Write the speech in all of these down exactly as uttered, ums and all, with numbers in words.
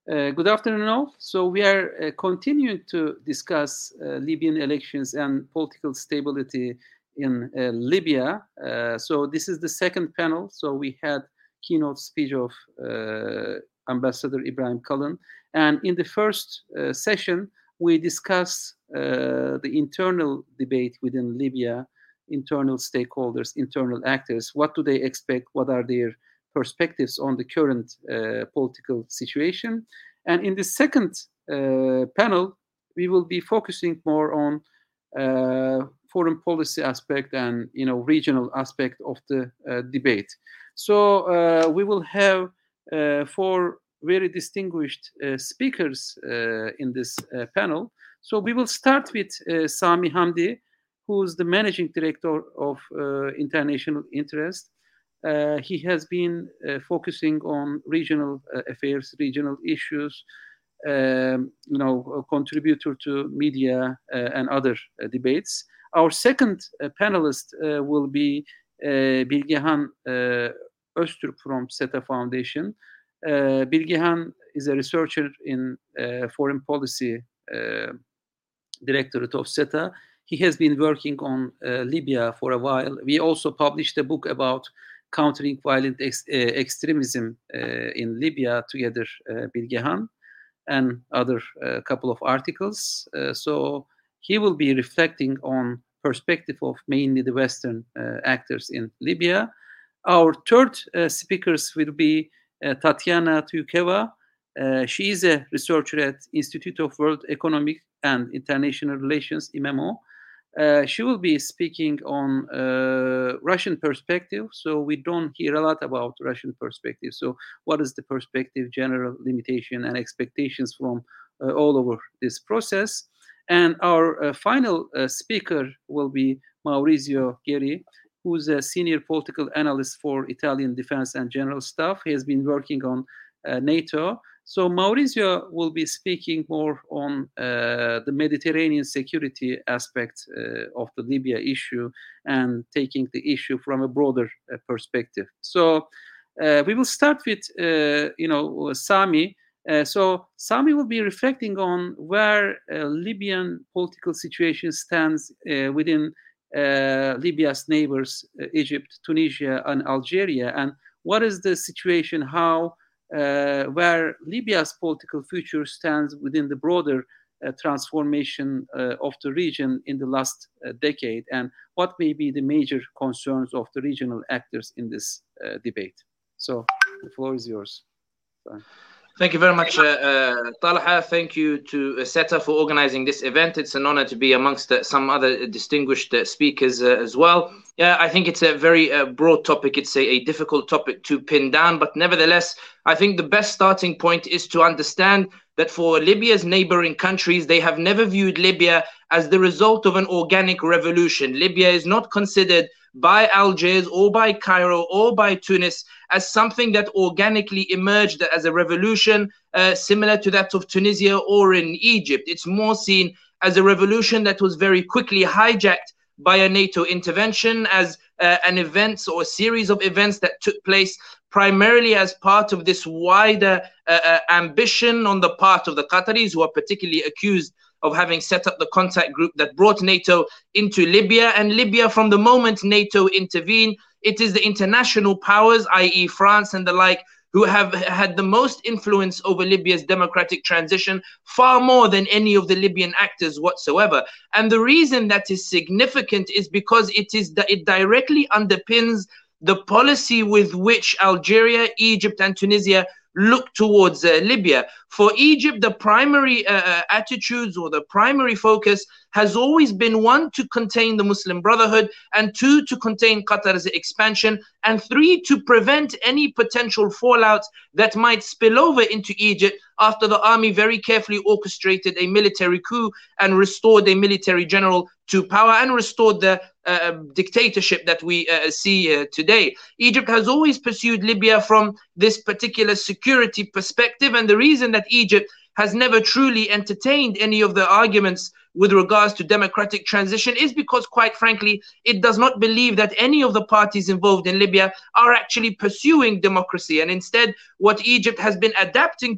Uh, good afternoon, all. So we are uh, continuing to discuss uh, Libyan elections and political stability in uh, Libya. Uh, so this is the second panel. So we had keynote speech of uh, Ambassador Ibrahim Kalın. And in the first uh, session, we discussed uh, the internal debate within Libya, internal stakeholders, internal actors. What do they expect? What are their perspectives on the current uh, political situation? And in the second uh, panel, we will be focusing more on uh, foreign policy aspect and you know regional aspect of the uh, debate. So uh, we will have uh, four very distinguished uh, speakers uh, in this uh, panel. So we will start with uh, Sami Hamdi, who's the managing director of uh, International Interest. Uh, he has been uh, focusing on regional uh, affairs, regional issues, um, you know, a contributor to media uh, and other uh, debates. Our second uh, panelist uh, will be uh, Bilgehan uh, Öztürk from SETA Foundation. Uh, Bilgehan is a researcher in uh, foreign policy uh, directorate of SETA. He has been working on uh, Libya for a while. We also published a book about countering violent ex- uh, extremism uh, in Libya together, uh, Bilgehan, and other uh, couple of articles. Uh, so he will be reflecting on perspective of mainly the Western uh, actors in Libya. Our third uh, speakers will be uh, Tatiana Tyukeva. Uh, she is a researcher at Institute of World Economic and International Relations, I M E M O. Uh, she will be speaking on uh, Russian perspective. So we don't hear a lot about Russian perspective. So what is the perspective, general limitation and expectations from uh, all over this process? And our uh, final uh, speaker will be Maurizio Gheri, who's a senior political analyst for Italian Defense and General Staff. He has been working on uh, NATO. So Maurizio will be speaking more on uh, the Mediterranean security aspect uh, of the Libya issue and taking the issue from a broader uh, perspective. So uh, we will start with, uh, you know, Sami. Uh, so Sami will be reflecting on where uh, Libyan political situation stands uh, within uh, Libya's neighbors, uh, Egypt, Tunisia, and Algeria, and what is the situation, how Uh, where Libya's political future stands within the broader uh, transformation uh, of the region in the last uh, decade, and what may be the major concerns of the regional actors in this uh, debate. So the floor is yours. Bye. Thank you very much, uh, uh, Talha. Thank you to uh, SETA for organizing this event. It's an honor to be amongst uh, some other distinguished uh, speakers uh, as well. Yeah, I think it's a very uh, broad topic. It's a, a difficult topic to pin down, but nevertheless, I think the best starting point is to understand that for Libya's neighboring countries, they have never viewed Libya as the result of an organic revolution. Libya is not considered by Algiers or by Cairo or by Tunis as something that organically emerged as a revolution uh, similar to that of Tunisia or in Egypt. It's more seen as a revolution that was very quickly hijacked by a NATO intervention, as uh, an event or a series of events that took place primarily as part of this wider uh, uh, ambition on the part of the Qataris, who are particularly accused of having set up the contact group that brought NATO into Libya. And Libya, from the moment NATO intervened, it is the international powers, that is France and the like, who have had the most influence over Libya's democratic transition, far more than any of the Libyan actors whatsoever. And the reason that is significant is because it is that it directly underpins the policy with which Algeria, Egypt, and Tunisia look towards uh, Libya. For Egypt, the primary uh, attitudes or the primary focus has always been, one, to contain the Muslim Brotherhood, and two, to contain Qatar's expansion, and three, to prevent any potential fallout that might spill over into Egypt after the army very carefully orchestrated a military coup and restored a military general to power and restored the uh, dictatorship that we uh, see uh, today. Egypt has always pursued Libya from this particular security perspective, and the reason that Egypt has never truly entertained any of the arguments with regards to democratic transition is because, quite frankly, it does not believe that any of the parties involved in Libya are actually pursuing democracy. And instead, what Egypt has been adapting to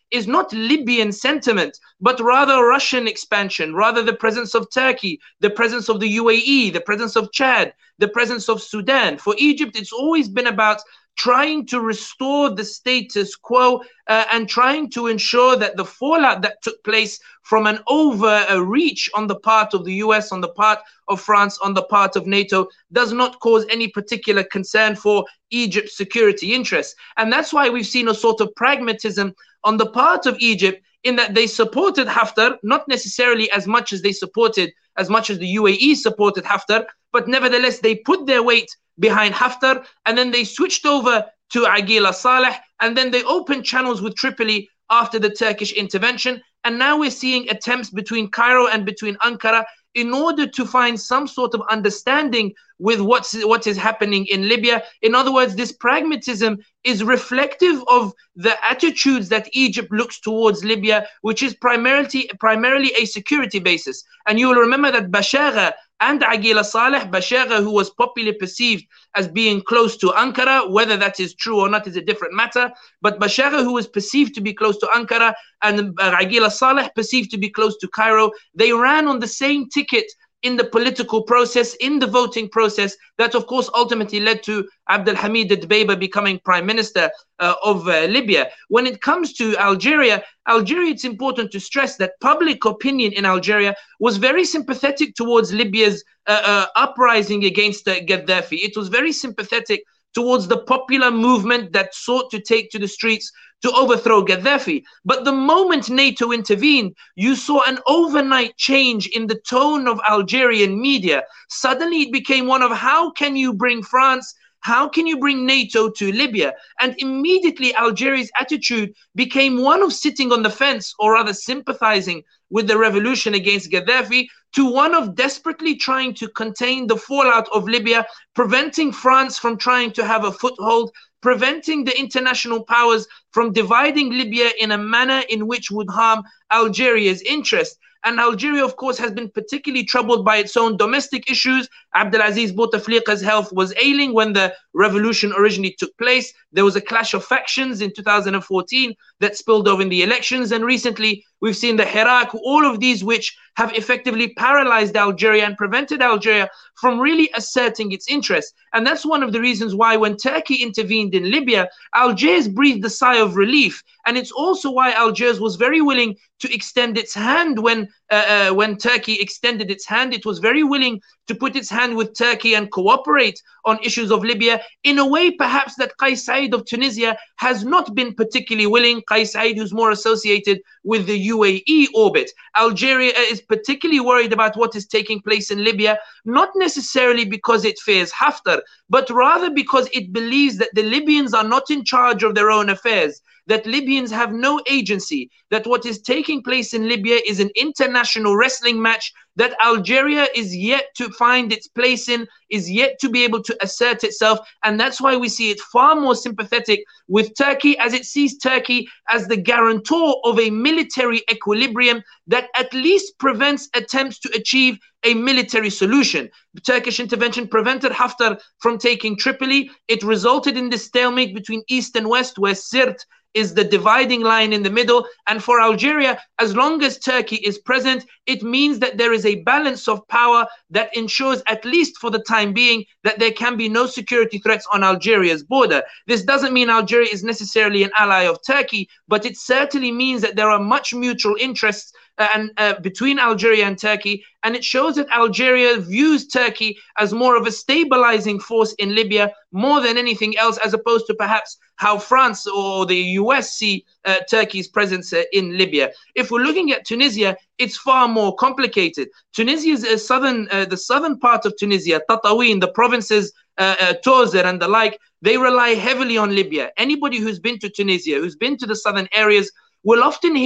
is not Libyan sentiment, but rather Russian expansion, rather the presence of Turkey, the presence of the U A E, the presence of Chad, the presence of Sudan. For Egypt, it's always been about trying to restore the status quo uh, and trying to ensure that the fallout that took place from an overreach on the part of the U S, on the part of France, on the part of NATO, does not cause any particular concern for Egypt's security interests. And that's why we've seen a sort of pragmatism on the part of Egypt, in that they supported Haftar, not necessarily as much as they supported, as much as the U A E supported Haftar, but nevertheless they put their weight behind Haftar, and then they switched over to Aqil al-Saleh, and then they opened channels with Tripoli after the Turkish intervention. And now we're seeing attempts between Cairo and between Ankara in order to find some sort of understanding with what's what is happening in Libya. In other words, this pragmatism is reflective of the attitudes that Egypt looks towards Libya, which is primarily primarily a security basis. And you will remember that Bashagha and Aqil al-Saleh, Bashagha, who was popularly perceived as being close to Ankara, whether that is true or not is a different matter, but Bashagha, who was perceived to be close to Ankara, and Aqil al-Saleh perceived to be close to Cairo, they ran on the same ticket in the political process, in the voting process, that of course ultimately led to Abdelhamid Dbeiba becoming prime minister uh, of uh, Libya. When it comes to Algeria, Algeria, it's important to stress that public opinion in Algeria was very sympathetic towards Libya's uh, uh, uprising against uh, Gaddafi. It was very sympathetic towards the popular movement that sought to take to the streets to overthrow Gaddafi. But the moment NATO intervened, you saw an overnight change in the tone of Algerian media. Suddenly it became one of, how can you bring France, how can you bring NATO to Libya? And immediately Algeria's attitude became one of sitting on the fence, or rather sympathizing with the revolution against Gaddafi, to one of desperately trying to contain the fallout of Libya, preventing France from trying to have a foothold, preventing the international powers from dividing Libya in a manner in which would harm Algeria's interest. And Algeria, of course, has been particularly troubled by its own domestic issues. Abdelaziz Bouteflika's health was ailing when the revolution originally took place. There was a clash of factions in two thousand fourteen that spilled over in the elections. And recently, we've seen the Hirak, all of these which have effectively paralyzed Algeria and prevented Algeria from really asserting its interests. And that's one of the reasons why when Turkey intervened in Libya, Algiers breathed a sigh of relief. And it's also why Algiers was very willing to extend its hand when uh, uh, when Turkey extended its hand. It was very willing to put its hand with Turkey and cooperate on issues of Libya in a way perhaps that Qais Said of Tunisia has not been particularly willing. Qais Said, who's more associated with the U A E orbit. Algeria is particularly worried about what is taking place in Libya, not necessarily because it fears Haftar, but rather because it believes that the Libyans are not in charge of their own affairs, that Libyans have no agency, that what is taking place in Libya is an international wrestling match that Algeria is yet to find its place in, is yet to be able to assert itself. And that's why we see it far more sympathetic with Turkey, as it sees Turkey as the guarantor of a military equilibrium that at least prevents attempts to achieve a military solution. The Turkish intervention prevented Haftar from taking Tripoli. It resulted in this stalemate between East and West, where Sirte is the dividing line in the middle. And for Algeria, as long as Turkey is present, it means that there is a balance of power that ensures, at least for the time being, that there can be no security threats on Algeria's border. This doesn't mean Algeria is necessarily an ally of Turkey, but it certainly means that there are much mutual interests uh, and uh, between Algeria and Turkey, and it shows that Algeria views Turkey as more of a stabilizing force in Libya more than anything else, as opposed to perhaps how France or the U S see uh, Turkey's presence uh, in Libya. If we're looking at Tunisia, it's far more complicated. Tunisia's uh, southern, uh, the southern part of Tunisia, Tatawin, the provinces, uh, uh, Tozer and the like, they rely heavily on Libya. Anybody who's been to Tunisia, who's been to the southern areas, will often hear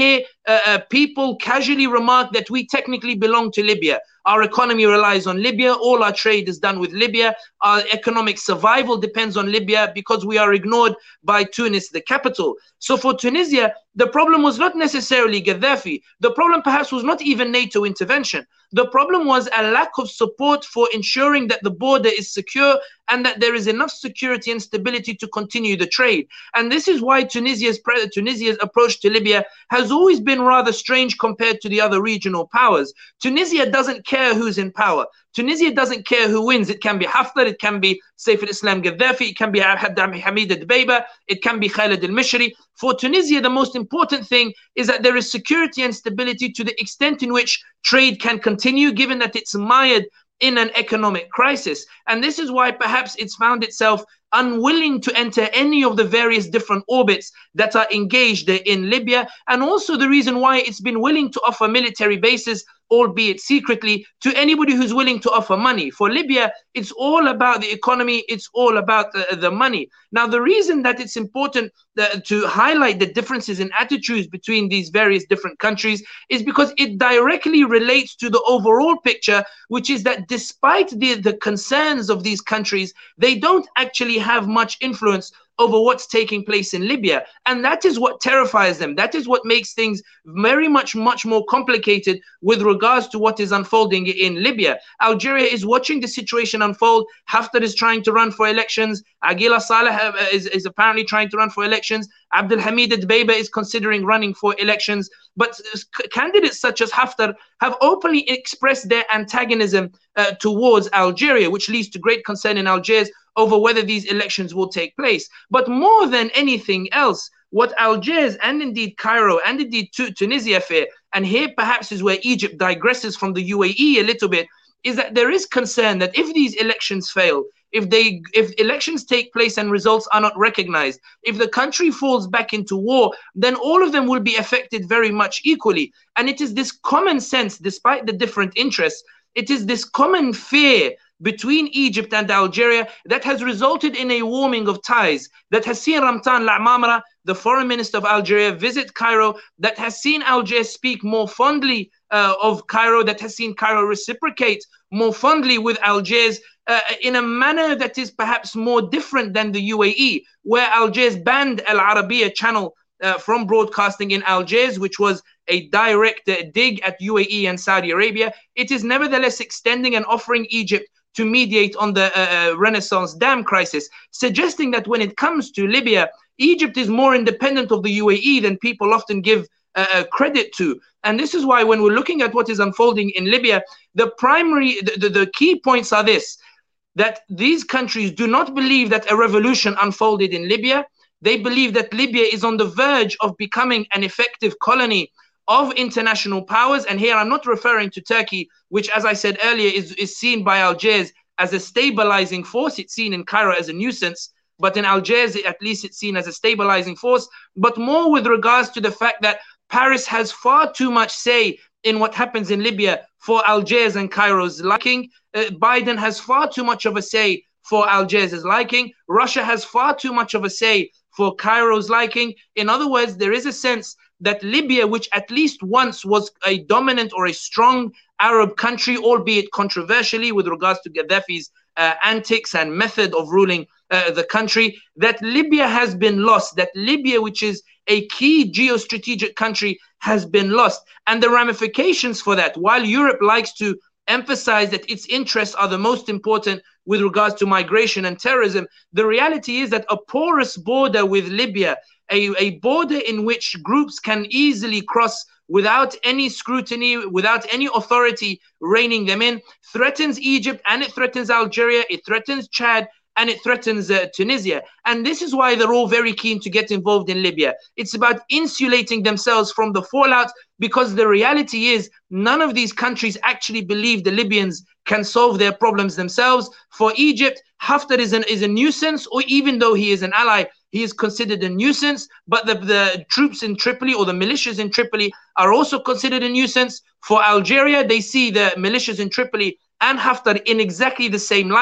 uh, uh, people casually remark that we technically belong to Libya. Our economy relies on Libya. All our trade is done with Libya. Our economic survival depends on Libya because we are ignored by Tunis, the capital. So for Tunisia, the problem was not necessarily Gaddafi. The problem perhaps was not even NATO intervention. The problem was a lack of support for ensuring that the border is secure and that there is enough security and stability to continue the trade. And this is why Tunisia's, Tunisia's approach to Libya has always been rather strange compared to the other regional powers. Tunisia doesn't care who's in power. Tunisia doesn't care who wins. It can be Haftar, it can be Saif al-Islam Gaddafi, it can be Hamid al-Dbeiba, it can be Khalid al-Mishri. For Tunisia, the most important thing is that there is security and stability to the extent in which trade can continue, given that it's mired in an economic crisis. And this is why perhaps it's found itself unwilling to enter any of the various different orbits that are engaged in Libya, and also the reason why it's been willing to offer military bases, albeit secretly, to anybody who's willing to offer money. For Libya, it's all about the economy, it's all about the, the money. Now, the reason that it's important uh, to highlight the differences in attitudes between these various different countries is because it directly relates to the overall picture, which is that despite the, the concerns of these countries, they don't actually have much influence over what's taking place in Libya. And that is what terrifies them. That is what makes things very much, much more complicated with regards to what is unfolding in Libya. Algeria is watching the situation unfold. Haftar is trying to run for elections. Aguila Saleh is, is apparently trying to run for elections. Abdel Hamid al-Dbeiba is considering running for elections. But candidates such as Haftar have openly expressed their antagonism uh, towards Algeria, which leads to great concern in Algiers over whether these elections will take place. But more than anything else, what Algiers and indeed Cairo and indeed Tunisia fear, and here perhaps is where Egypt digresses from the U A E a little bit, is that there is concern that if these elections fail, if they if elections take place and results are not recognized, if the country falls back into war, then all of them will be affected very much equally. And it is this common sense, despite the different interests, it is this common fear between Egypt and Algeria that has resulted in a warming of ties, that has seen Ramtan Lamamra, the foreign minister of Algeria, visit Cairo, that has seen Algiers speak more fondly uh, of Cairo, that has seen Cairo reciprocate more fondly with Algiers uh, in a manner that is perhaps more different than the U A E, where Algiers banned Al Arabiya channel uh, from broadcasting in Algiers, which was a direct uh, dig at U A E and Saudi Arabia. It is nevertheless extending and offering Egypt to mediate on the uh, Renaissance dam crisis, suggesting that when it comes to Libya, Egypt is more independent of the U A E than people often give uh, credit to. And this is why when we're looking at what is unfolding in Libya, the primary, the, the, the key points are this, that these countries do not believe that a revolution unfolded in Libya. They believe that Libya is on the verge of becoming an effective colony of international powers. And here I'm not referring to Turkey, which, as I said earlier, is, is seen by Algiers as a stabilizing force. It's seen in Cairo as a nuisance, but in Algiers, at least it's seen as a stabilizing force, but more with regards to the fact that Paris has far too much say in what happens in Libya for Algiers and Cairo's liking. Uh, Biden has far too much of a say for Algiers' liking. Russia has far too much of a say for Cairo's liking. In other words, there is a sense that Libya, which at least once was a dominant or a strong Arab country, albeit controversially with regards to Gaddafi's uh, antics and method of ruling uh, the country, that Libya has been lost, that Libya, which is a key geostrategic country, has been lost. And the ramifications for that, while Europe likes to emphasize that its interests are the most important with regards to migration and terrorism, the reality is that a porous border with Libya, a, a border in which groups can easily cross without any scrutiny, without any authority reining them in, threatens Egypt, and it threatens Algeria, it threatens Chad, and it threatens uh, Tunisia. And this is why they're all very keen to get involved in Libya. It's about insulating themselves from the fallout, because the reality is none of these countries actually believe the Libyans can solve their problems themselves. For Egypt, Haftar is, an, is a nuisance, or even though he is an ally, he is considered a nuisance. But the, the troops in Tripoli, or the militias in Tripoli, are also considered a nuisance. For Algeria, they see the militias in Tripoli and Haftar in exactly the same light.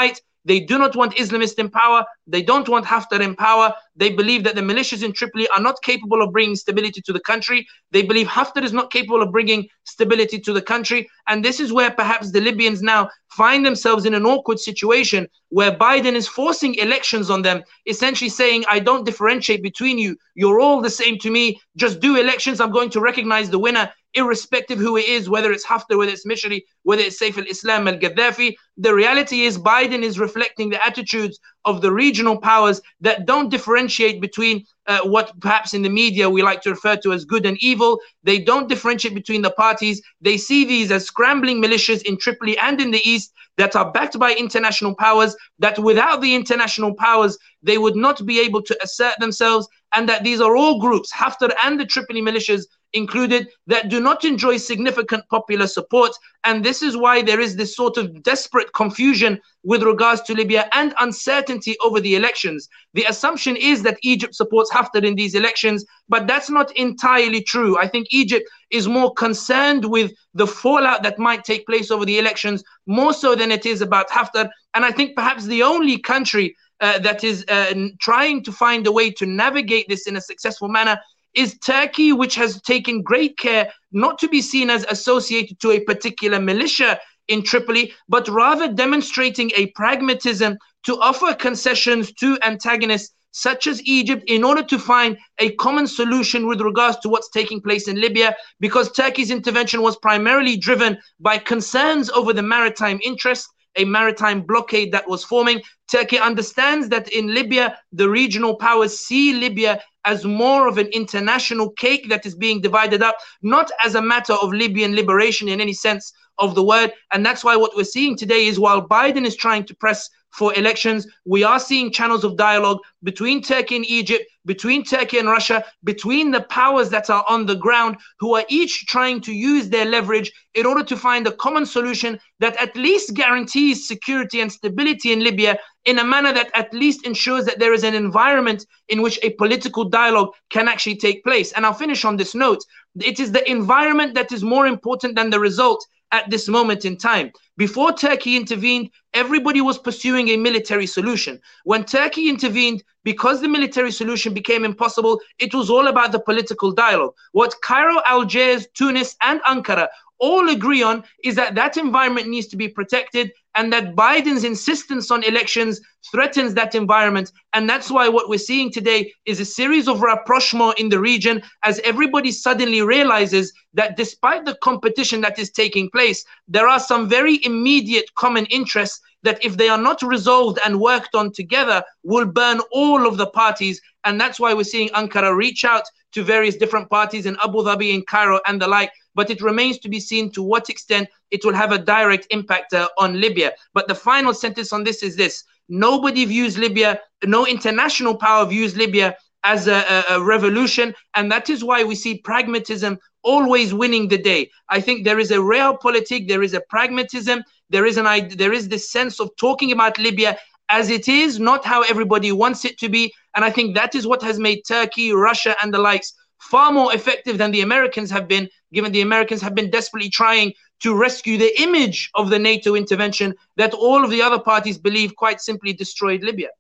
They do not want Islamists in power. They don't want Haftar in power. They believe that the militias in Tripoli are not capable of bringing stability to the country. They believe Haftar is not capable of bringing stability to the country. And this is where perhaps the Libyans now find themselves in an awkward situation where Biden is forcing elections on them, essentially saying, I don't differentiate between you. You're all the same to me. Just do elections. I'm going to recognize the winner, irrespective who it is, whether it's Haftar, whether it's Mishri, whether it's Saif al-Islam al-Gaddafi. The reality is Biden is reflecting the attitudes of the regional powers that don't differentiate between uh, what perhaps in the media we like to refer to as good and evil. They don't differentiate between the parties. They see these as scrambling militias in Tripoli and in the east that are backed by international powers, that without the international powers, they would not be able to assert themselves, and that these are all groups, Haftar and the Tripoli militias included, that do not enjoy significant popular support. And this is why there is this sort of desperate confusion with regards to Libya and uncertainty over the elections. The assumption is that Egypt supports Haftar in these elections, but that's not entirely true. I think Egypt is more concerned with the fallout that might take place over the elections, more so than it is about Haftar. And I think perhaps the only country uh, that is uh, trying to find a way to navigate this in a successful manner is Turkey, which has taken great care not to be seen as associated to a particular militia in Tripoli, but rather demonstrating a pragmatism to offer concessions to antagonists such as Egypt in order to find a common solution with regards to what's taking place in Libya, because Turkey's intervention was primarily driven by concerns over the maritime interest, a maritime blockade that was forming. Turkey understands that in Libya, the regional powers see Libya as more of an international cake that is being divided up, not as a matter of Libyan liberation in any sense of the word. And that's why what we're seeing today is, while Biden is trying to press for elections, we are seeing channels of dialogue between Turkey and Egypt, between Turkey and Russia, between the powers that are on the ground, who are each trying to use their leverage in order to find a common solution that at least guarantees security and stability in Libya, in a manner that at least ensures that there is an environment in which a political dialogue can actually take place. And I'll finish on this note. It is the environment that is more important than the result at this moment in time. Before Turkey intervened, everybody was pursuing a military solution. When Turkey intervened, because the military solution became impossible, it was all about the political dialogue. What Cairo, Algiers, Tunis, and Ankara all agree on is that that environment needs to be protected, and that Biden's insistence on elections threatens that environment. And that's why what we're seeing today is a series of rapprochement in the region, as everybody suddenly realizes that despite the competition that is taking place, there are some very immediate common interests that, if they are not resolved and worked on together, will burn all of the parties. And that's why we're seeing Ankara reach out to various different parties in Abu Dhabi, in Cairo, and the like. But it remains to be seen to what extent it will have a direct impact uh, on Libya. But the final sentence on this is this: nobody views Libya, no international power views Libya as a, a, a revolution. And that is why we see pragmatism always winning the day. I think there is a realpolitik, there is a pragmatism, there is, an, there is this sense of talking about Libya as it is, not how everybody wants it to be. And I think that is what has made Turkey, Russia, and the likes far more effective than the Americans have been, given the Americans have been desperately trying to rescue the image of the NATO intervention that all of the other parties believe quite simply destroyed Libya.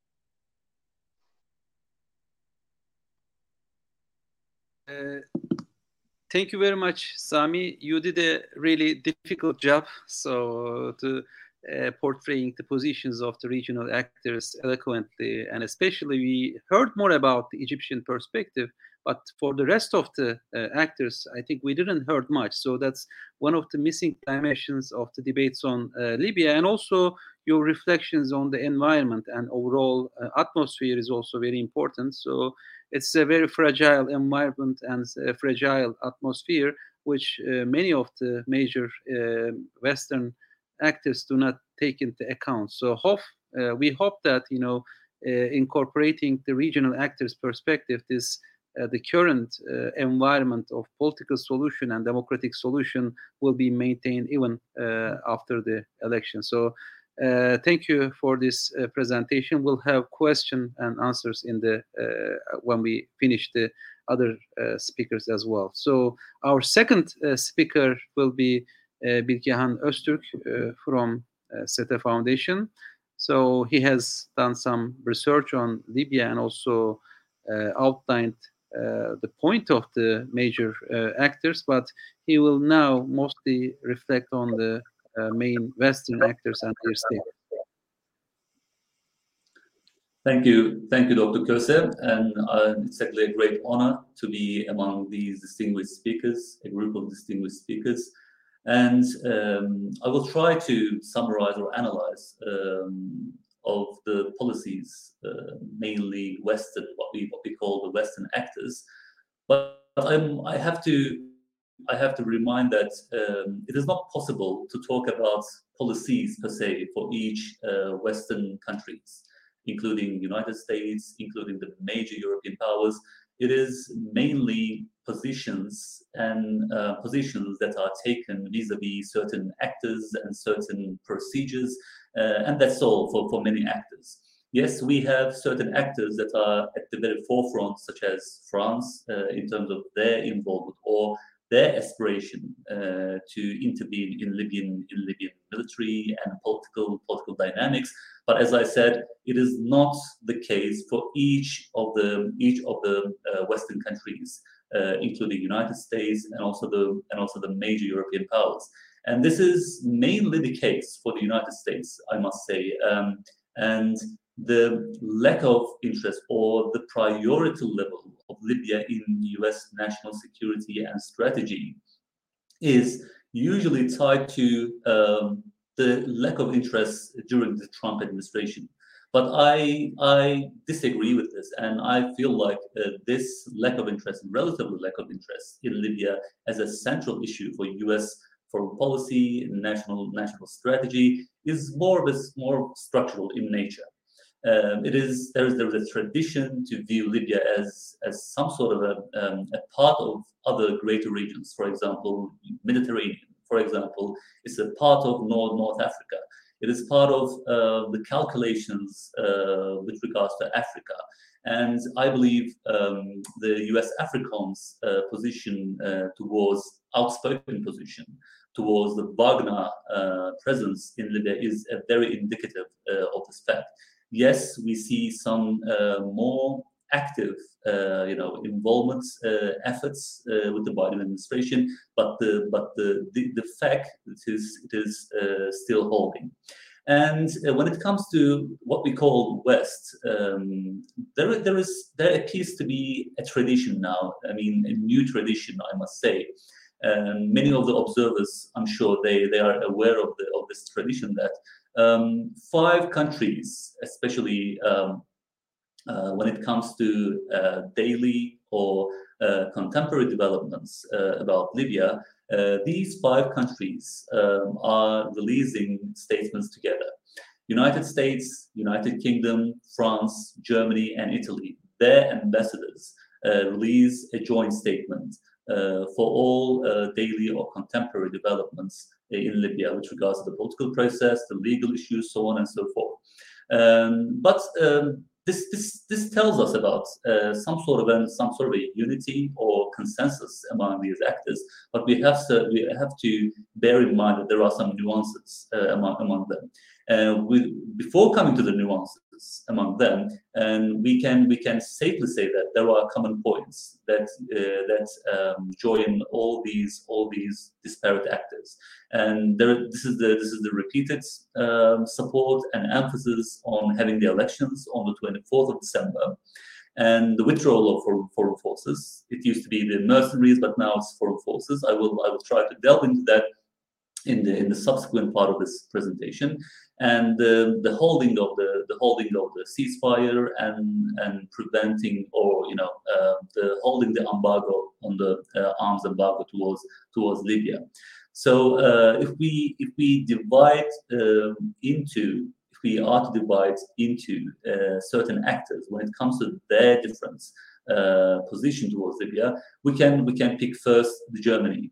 Uh, thank you very much, Sami. You did a really difficult job so to uh, portraying the positions of the regional actors eloquently, and especially we heard more about the Egyptian perspective. But for the rest of the uh, actors, I think we didn't heard much. So that's one of the missing dimensions of the debates on uh, Libya. And also your reflections on the environment and overall uh, atmosphere is also very important. So it's a very fragile environment and a fragile atmosphere, which uh, many of the major uh, Western actors do not take into account. So hope, uh, we hope that, you know, uh, incorporating the regional actors' perspective, this Uh, the current uh, environment of political solution and democratic solution will be maintained even uh, after the election. So uh, thank you for this uh, presentation. We'll have question and answers in the uh, when we finish the other uh, speakers as well. So our second uh, speaker will be uh, Bilgehan Öztürk uh, from uh, SETA Foundation. So he has done some research on Libya and also uh, outlined uh, the point of the major uh, actors, but he will now mostly reflect on the uh, main Western actors and their state. Thank you. Thank you, Doctor Köse. And uh, it's actually a great honor to be among these distinguished speakers, a group of distinguished speakers. And um, I will try to summarize or analyze um, of the policies, uh, mainly Western, what we what we call the Western actors. But I'm, I have to I have to remind that um, it is not possible to talk about policies per se for each uh, Western countries, including United States, including the major European powers. It is mainly positions and uh, positions that are taken vis-a-vis certain actors and certain procedures, uh, and that's all for, for many actors. Yes, we have certain actors that are at the very forefront, such as France, uh, in terms of their involvement or their aspiration uh, to intervene in Libyan in Libyan military and political political dynamics. But as I said, it is not the case for each of the each of the uh, Western countries, uh, including United States and also the and also the major European powers. And this is mainly the case for the United States, I must say. Um, and the lack of interest or the priority level of Libya in U S national security and strategy is usually tied to um, the lack of interest during the Trump administration. But I I disagree with this, and I feel like uh, this lack of interest, relatively lack of interest in Libya as a central issue for U S foreign policy, national national strategy, is more of a, more structural in nature. Um, it is there is there is a tradition to view Libya as as some sort of a, um, a part of other greater regions. For example, Mediterranean. For example, it's a part of North North Africa. It is part of uh, the calculations uh, with regards to Africa. And I believe um, the U S AFRICOM's uh, position uh, towards outspoken position towards the Wagner uh, presence in Libya is a very indicative uh, of this fact. Yes, we see some uh, more active, uh, you know, involvement uh, efforts uh, with the Biden administration, but the but the the, the fact it is it is uh, still holding. And uh, when it comes to what we call West, um, there there is there appears to be a tradition now. I mean, a new tradition, I must say. And many of the observers, I'm sure, they they are aware of the of this tradition that. Um, five countries, especially um, uh, when it comes to uh, daily or uh, contemporary developments uh, about Libya, uh, these five countries um, are releasing statements together. United States, United Kingdom, France, Germany, and Italy, their ambassadors uh, release a joint statement uh, for all uh, daily or contemporary developments in Libya with regards to the political process, the legal issues, so on and so forth. Um, but um, this, this this tells us about uh, some sort of a, some sort of a unity or consensus among these actors. But we have to we have to bear in mind that there are some nuances uh, among among them. Uh, we, before coming to the nuances among them, and we can we can safely say that there are common points that uh, that um, join all these all these disparate actors, and there, this is the this is the repeated um, support and emphasis on having the elections on the twenty-fourth of December, and the withdrawal of foreign, foreign forces. It used to be the mercenaries, but now it's foreign forces. I will I will try to delve into that in the in the subsequent part of this presentation, and the the holding of the the holding of the ceasefire and and preventing or you know uh, the holding the embargo on the uh, arms embargo towards towards Libya. So uh, if we if we divide um, into if we are to divide into uh, certain actors when it comes to their different uh, position towards Libya, we can we can pick first the Germany.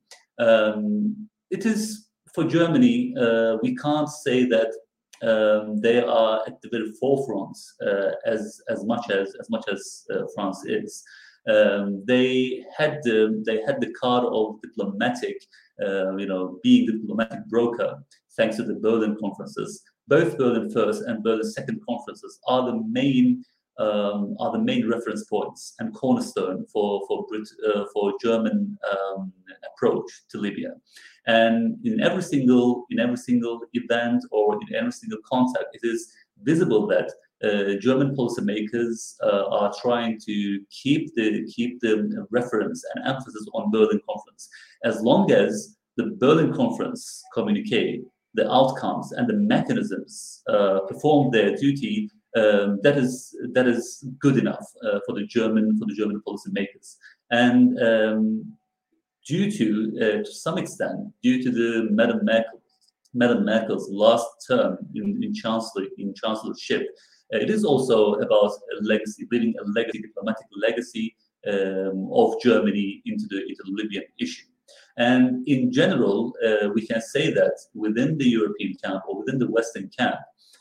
Um, it is for Germany, uh, we can't say that um, they are at the very forefront uh, as as much as as much as uh, France is. Um, they had the they had the card of diplomatic, uh, you know, being the diplomatic broker thanks to the Berlin conferences. both Berlin First and Berlin Second conferences are the main um, are the main reference points and cornerstone for for Brit uh, for German um, approach to Libya. And in every single in every single event or in every single contact, it is visible that uh, German policymakers uh, are trying to keep the keep the reference and emphasis on Berlin Conference. As long as the Berlin Conference communique, the outcomes and the mechanisms uh, perform their duty, um, that is that is good enough uh, for the German for the German policymakers. And um, due to uh, to some extent, due to the Madam Merkel, Madam Merkel's last term in, in chancellor in chancellorship, uh, it is also about a legacy, building a legacy, diplomatic legacy um, of Germany into the into the Libyan issue. And in general, uh, we can say that within the European camp or within the Western camp,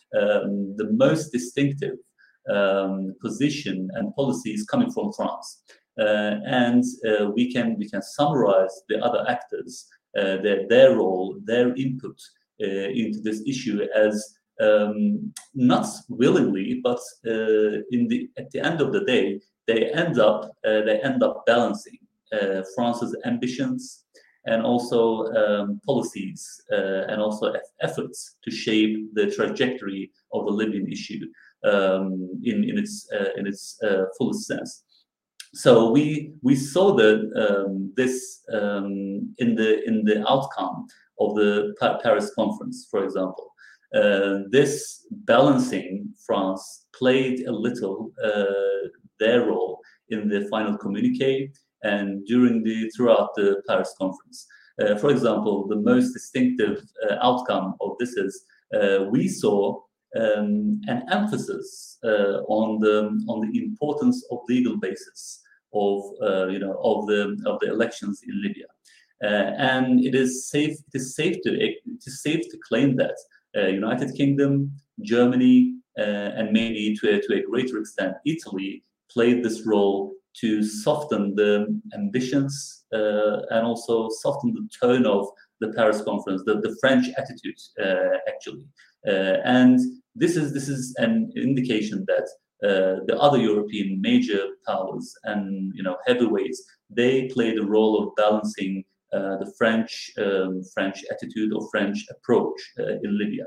um, the most distinctive um, position and policy is coming from France. Uh, and uh, we can we can summarize the other actors, uh, their their role, their input uh, into this issue as um, not willingly, but uh, in the at the end of the day, they end up uh, they end up balancing uh, France's ambitions and also um, policies uh, and also efforts to shape the trajectory of the Libyan issue um, in in its uh, in its uh, fullest sense. So we we saw that um, this um, in the in the outcome of the pa Paris conference, for example. Uh, this balancing France played a little uh, their role in the final communique and during the throughout the Paris conference. Uh, for example, the most distinctive uh, outcome of this is uh, we saw um, an emphasis uh, on the on the importance of legal basis of uh, you know of the of the elections in Libya, uh, and it is safe it is safe to it is safe to claim that uh, United Kingdom, Germany, uh, and maybe to a, to a greater extent Italy played this role to soften the ambitions uh, and also soften the tone of the Paris conference, the, the French attitude uh, actually, uh, and this is this is an indication that uh, the other European major powers and you know heavyweights, they played a role of balancing uh, the French um, French attitude or French approach uh, in Libya,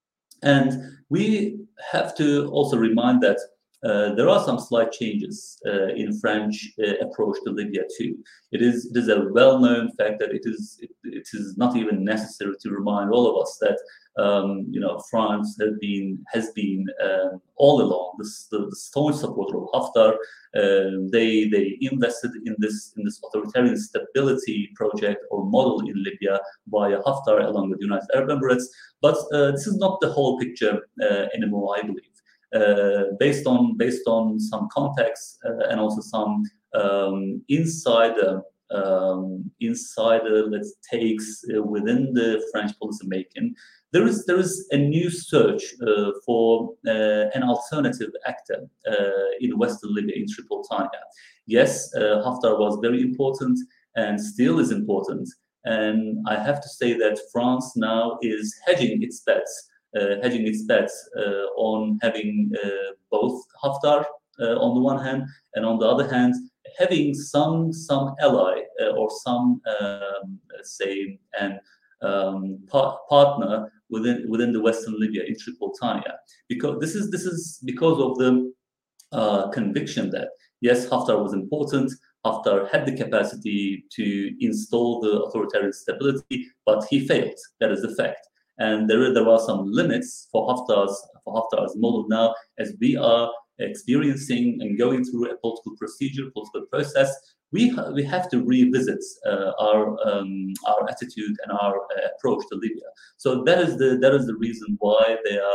and we have to also remind that. Uh, there are some slight changes uh, in French uh, approach to Libya too. It is it is a well-known fact that it is it, it is not even necessary to remind all of us that um, you know France has been has been uh, all along this, the, the staunch supporter of Haftar. Uh, they they invested in this in this authoritarian stability project or model in Libya via Haftar along with the United Arab Emirates. But uh, this is not the whole picture uh, anymore, I believe. Uh, based on based on some context uh, and also some um, insider um, insider let's takes uh, within the French policy making, there is there is a new search uh, for uh, an alternative actor uh, in Western Libya, in Tripolitania. Yes, uh, Haftar was very important and still is important, and I have to say that France now is hedging its bets. Uh, hedging its bets uh, on having uh, both Haftar uh, on the one hand, and on the other hand, having some some ally uh, or some um, say an um, par partner within within the Western Libya in Tripolitania, because this is this is because of the uh, conviction that yes, Haftar was important. Haftar had the capacity to install the authoritarian stability, but he failed. That is the fact. And there, there are some limits for Haftar's for Haftar's model now, as we are experiencing and going through a political procedure, political process. We ha we have to revisit uh, our um, our attitude and our uh, approach to Libya. So that is the that is the reason why they are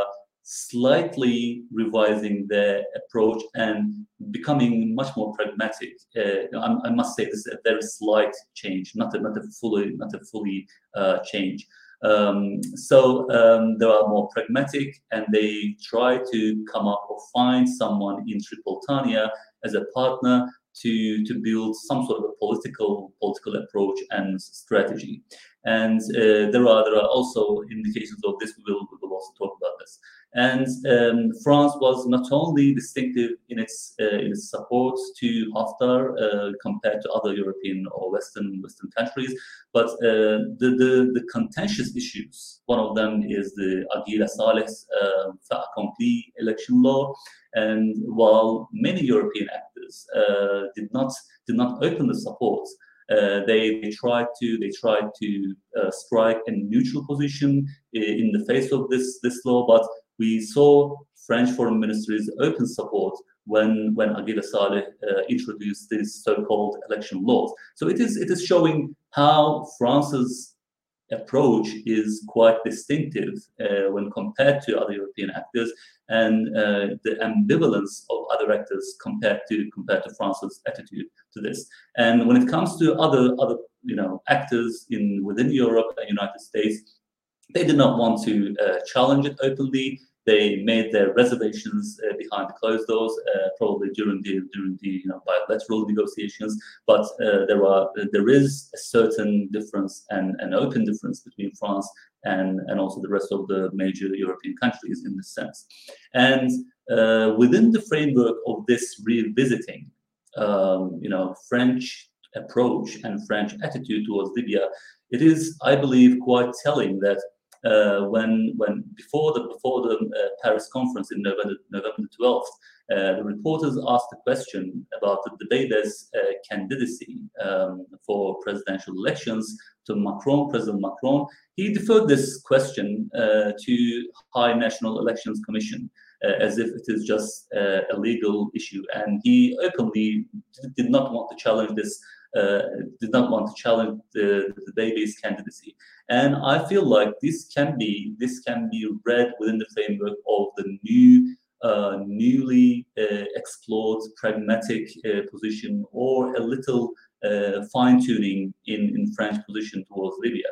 slightly revising their approach and becoming much more pragmatic. Uh, I, I must say this is a very slight change, not a not a fully not a fully uh, change. Um, so um, they are more pragmatic, and they try to come up or find someone in Tripolitania as a partner to to build some sort of a political political approach and strategy. And uh, there are there are also indications of this. We will we will also talk about that. actors. And um, France was not only distinctive in its uh, in its support to Haftar uh, compared to other European or Western Western countries, but uh, the, the the contentious issues. One of them is the Aguila Saleh's uh, fait accompli election law, and while many European actors uh, did not did not open the support. Uh, they, they tried to they tried to uh, strike a neutral position in the face of this this law, but we saw French Foreign Ministry's open support when when Aguila Saleh uh, introduced these so-called election laws. So it is it is showing how France's approach is quite distinctive uh, when compared to other European actors, and uh, the ambivalence of other actors compared to compared to France's attitude to this. And when it comes to other other you know actors in within Europe and United States, they did not want to uh, challenge it openly. They made their reservations uh, behind closed doors, uh, probably during the during the you know bilateral negotiations. But uh, there are there is a certain difference and an open difference between France and and also the rest of the major European countries in this sense. And uh, within the framework of this revisiting, um, you know, French approach and French attitude towards Libya, it is, I believe, quite telling that. Uh, when when before the before the uh, Paris conference in November November twelfth, uh, the reporters asked a question about the Dbeibeh's uh, candidacy um, for presidential elections to Macron, President Macron. He deferred this question uh, to High National Elections Commission uh, as if it is just uh, a legal issue, and he openly did not want to challenge this. Uh, did not want to challenge the, the Dbeibeh's candidacy, and I feel like this can be this can be read within the framework of the new, uh, newly uh, explored pragmatic uh, position, or a little uh, fine tuning in in French position towards Libya,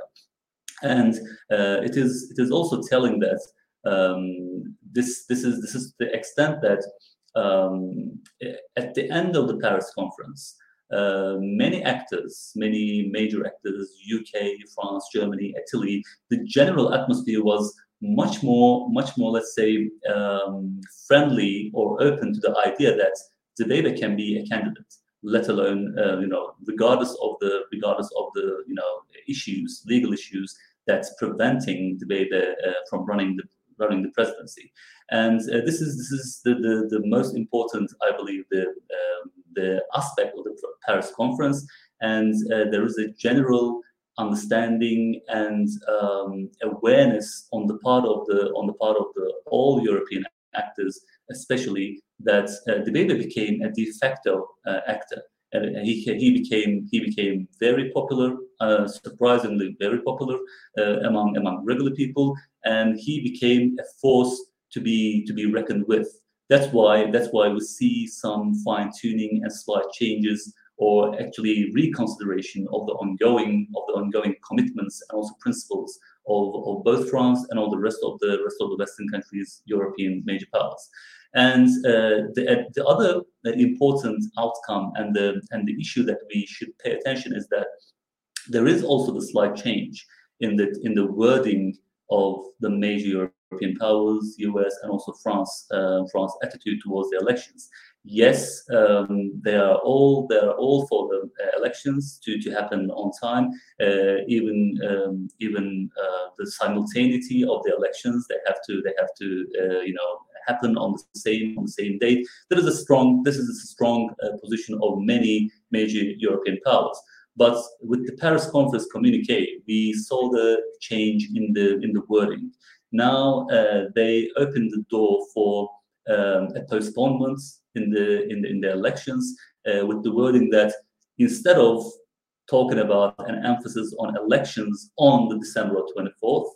and uh, it is it is also telling that um, this this is this is the extent that um, at the end of the Paris conference. Uh, many actors, many major actors, U K, France, Germany, Italy, the general atmosphere was much more, much more, let's say, um, friendly or open to the idea that Dbeibeh can be a candidate, let alone, uh, you know, regardless of the, regardless of the, you know, issues, legal issues that's preventing Dbeibeh uh, from running the running the presidency. And uh, this is this is the, the the most important, I believe, the um, the aspect of the Paris conference. And uh, there is a general understanding and um, awareness on the part of the on the part of the all European actors, especially that uh, Dbeibeh became a de facto uh, actor. And he he became he became very popular, uh, surprisingly very popular uh, among among regular people, and he became a force to be to be reckoned with. That's why that's why we see some fine tuning and slight changes, or actually reconsideration of the ongoing of the ongoing commitments and also principles of, of both France and all the rest of the rest of the Western countries, European major powers. And uh, the, the other important outcome and the and the issue that we should pay attention is that there is also the slight change in the in the wording of the major European powers, U S and also France, uh, France attitude towards the elections. Yes, um, they are all they are all for the uh, elections to, to happen on time. Uh, even um, even uh, the simultaneity of the elections, they have to they have to uh, you know happen on the same on the same date. There is a strong this is a strong uh, position of many major European powers. But with the Paris conference communique, we saw the change in the in the wording. Now uh, they opened the door for um, a postponement in the in the, in the elections uh, with the wording that instead of talking about an emphasis on elections on the December twenty-fourth,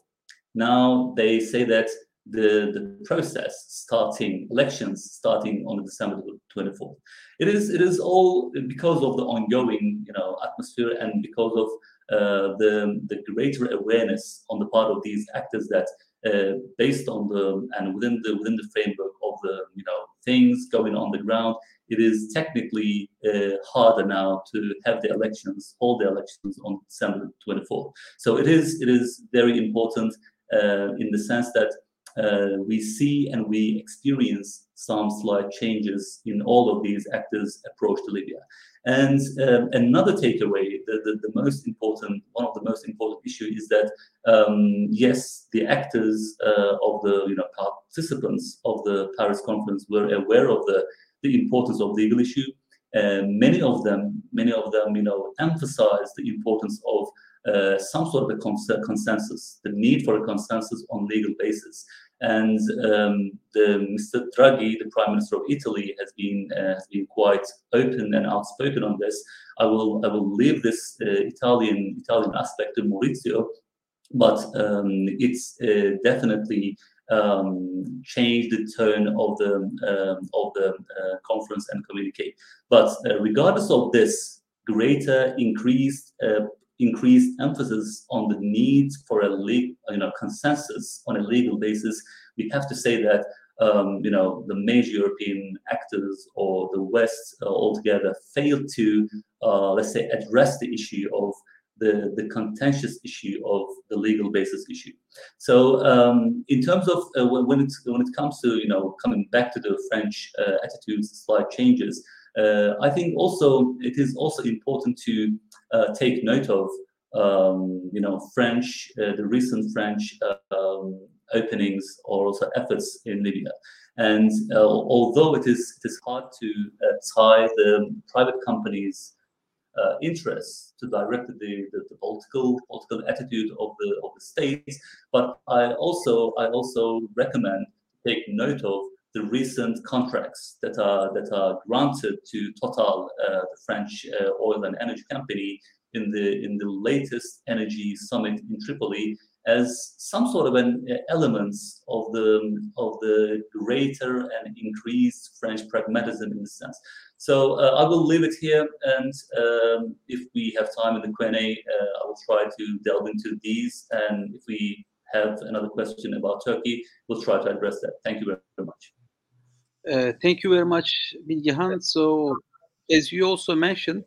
now they say that the the process starting elections starting on the December twenty-fourth. It is it is all because of the ongoing you know atmosphere and because of uh, the the greater awareness on the part of these actors that uh, based on the and within the within the framework of the you know things going on the ground, it is technically uh, harder now to have the elections, hold the elections on December twenty-fourth. So it is it is very important uh, in the sense that uh, we see and we experience some slight changes in all of these actors' approach to Libya. And um, another takeaway, the, the, the most important, one of the most important issues is that, um, yes, the actors uh, of the, you know, participants of the Paris conference were aware of the, the importance of legal issue. And many of them, many of them, you know, emphasized the importance of uh, some sort of a cons consensus, the need for a consensus on legal basis. And um, the Mister Draghi, the Prime Minister of Italy, has been uh, has been quite open and outspoken on this. I will I will leave this uh, Italian Italian aspect to Maurizio, but um, it's uh, definitely um, changed the tone of the um, of the uh, conference and communique. But uh, regardless of this, greater increased uh, increased emphasis on the need for a legal, you know, consensus on a legal basis, we have to say that um, you know, the major European actors or the West uh, altogether failed to uh, let's say address the issue of the the contentious issue of the legal basis issue. So um, in terms of uh, when it when it comes to, you know, coming back to the French uh, attitudes, slight changes. Uh, I think also it is also important to uh, take note of, um, you know, French, uh, the recent French uh, um, openings or also efforts in Libya. And uh, although it is it is hard to uh, tie the private companies' uh, interests to direct the, the, the political political attitude of the of the states, but I also I also recommend to take note of the recent contracts that are that are granted to Total, uh, the French uh, oil and energy company, in the in the latest energy summit in Tripoli, as some sort of an uh, elements of the of the greater and increased French pragmatism in the sense. So uh, I will leave it here, and um, if we have time in the Q and A, uh, I will try to delve into these, and if we have another question about Turkey, we'll try to address that. Thank you very, very much. Uh, thank you very much, Bilgehan. So, as you also mentioned,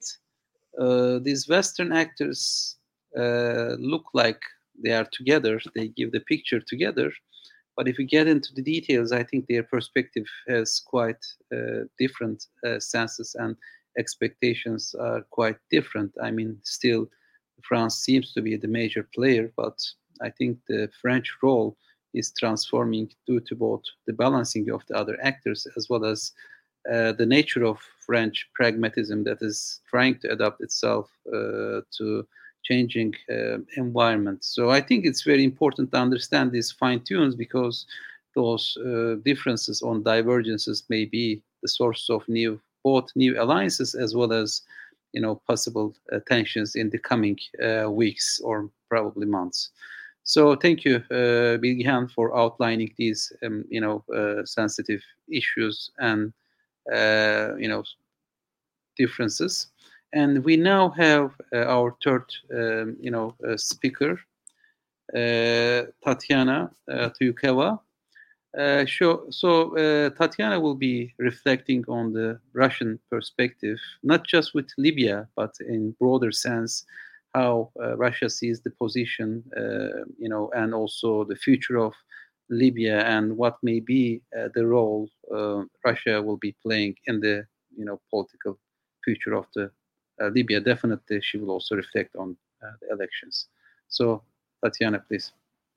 uh, these Western actors uh, look like they are together. They give the picture together. But if you get into the details, I think their perspective has quite uh, different uh, senses, and expectations are quite different. I mean, still, France seems to be the major player, but I think the French role is transforming due to both the balancing of the other actors as well as uh, the nature of French pragmatism that is trying to adapt itself uh, to changing uh, environment. So I think it's very important to understand these fine tunes, because those uh, differences on divergences may be the source of new, both new alliances as well as, you know, possible uh, tensions in the coming uh, weeks or probably months. So thank you, uh, Bilgehan, for outlining these, um, you know, uh, sensitive issues and, uh, you know, differences. And we now have uh, our third, um, you know, uh, speaker, uh, Tatiana uh, Tyukeva. Uh, so so uh, Tatiana will be reflecting on the Russian perspective, not just with Libya, but in broader sense, how uh, Russia sees the position, uh, you know, and also the future of Libya, and what may be uh, the role uh, Russia will be playing in the, you know, political future of the uh, Libya. Definitely, she will also reflect on uh, the elections. So, Tatiana, please.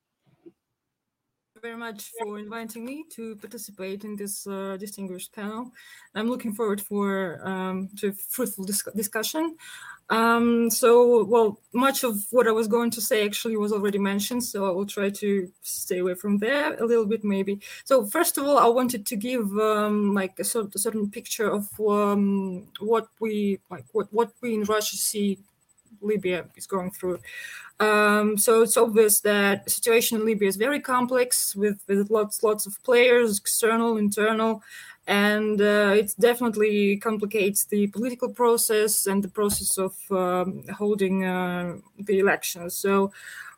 Thank you very much for inviting me to participate in this uh, distinguished panel. I'm looking forward for um, to a fruitful dis discussion. Um, so, well, much of what I was going to say actually was already mentioned, so I will try to stay away from there a little bit, maybe. So, first of all, I wanted to give um, like a, sort, a certain picture of um, what we like, what what we in Russia see Libya is going through. Um, so it's obvious that the situation in Libya is very complex, with, with lots lots of players, external, internal, and uh, it definitely complicates the political process and the process of um, holding uh, the elections. So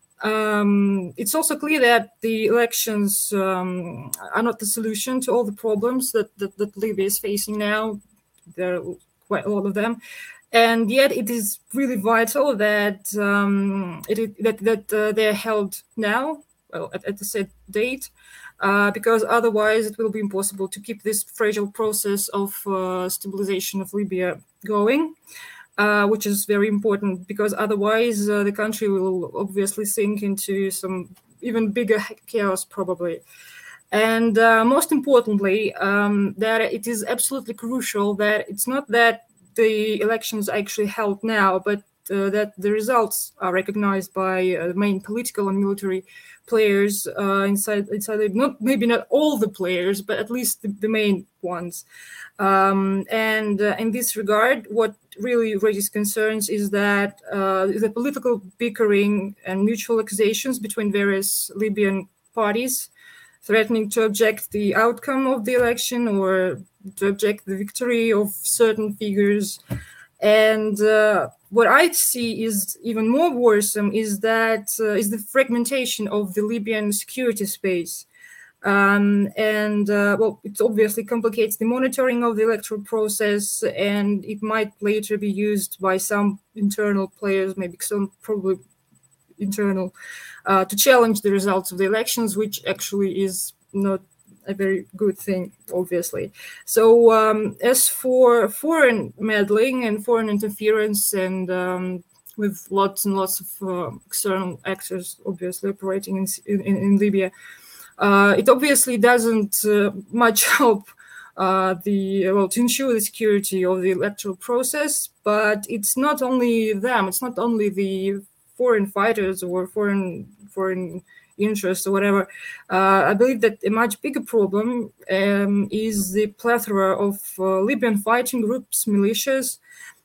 um, it's also clear that the elections um, are not the solution to all the problems that, that, that Libya is facing now. There are quite a lot of them. And yet, it is really vital that um, it, that that uh, they're held now, well, at, at the set date, uh, because otherwise it will be impossible to keep this fragile process of uh, stabilization of Libya going, uh, which is very important, because otherwise uh, the country will obviously sink into some even bigger chaos probably. And uh, most importantly, um, that it is absolutely crucial that it's not that the elections are actually held now, but uh, that the results are recognized by uh, main political and military players uh, inside, inside not maybe not all the players, but at least the, the main ones. Um, and uh, in this regard, what really raises concerns is that uh, the political bickering and mutual accusations between various Libyan parties threatening to object the outcome of the election or to object the victory of certain figures. And uh, what I see is even more worrisome is that uh, is the fragmentation of the Libyan security space. Um, and uh, well, it obviously complicates the monitoring of the electoral process, and it might later be used by some internal players, maybe some probably internal, uh, to challenge the results of the elections, which actually is not a very good thing, obviously. So um, as for foreign meddling and foreign interference, and um, with lots and lots of uh, external actors obviously operating in, in, in Libya, uh, it obviously doesn't uh, much help uh, the well to ensure the security of the electoral process. But it's not only them; it's not only the foreign fighters or foreign foreign interests or whatever. Uh, I believe that a much bigger problem um, is the plethora of uh, Libyan fighting groups, militias,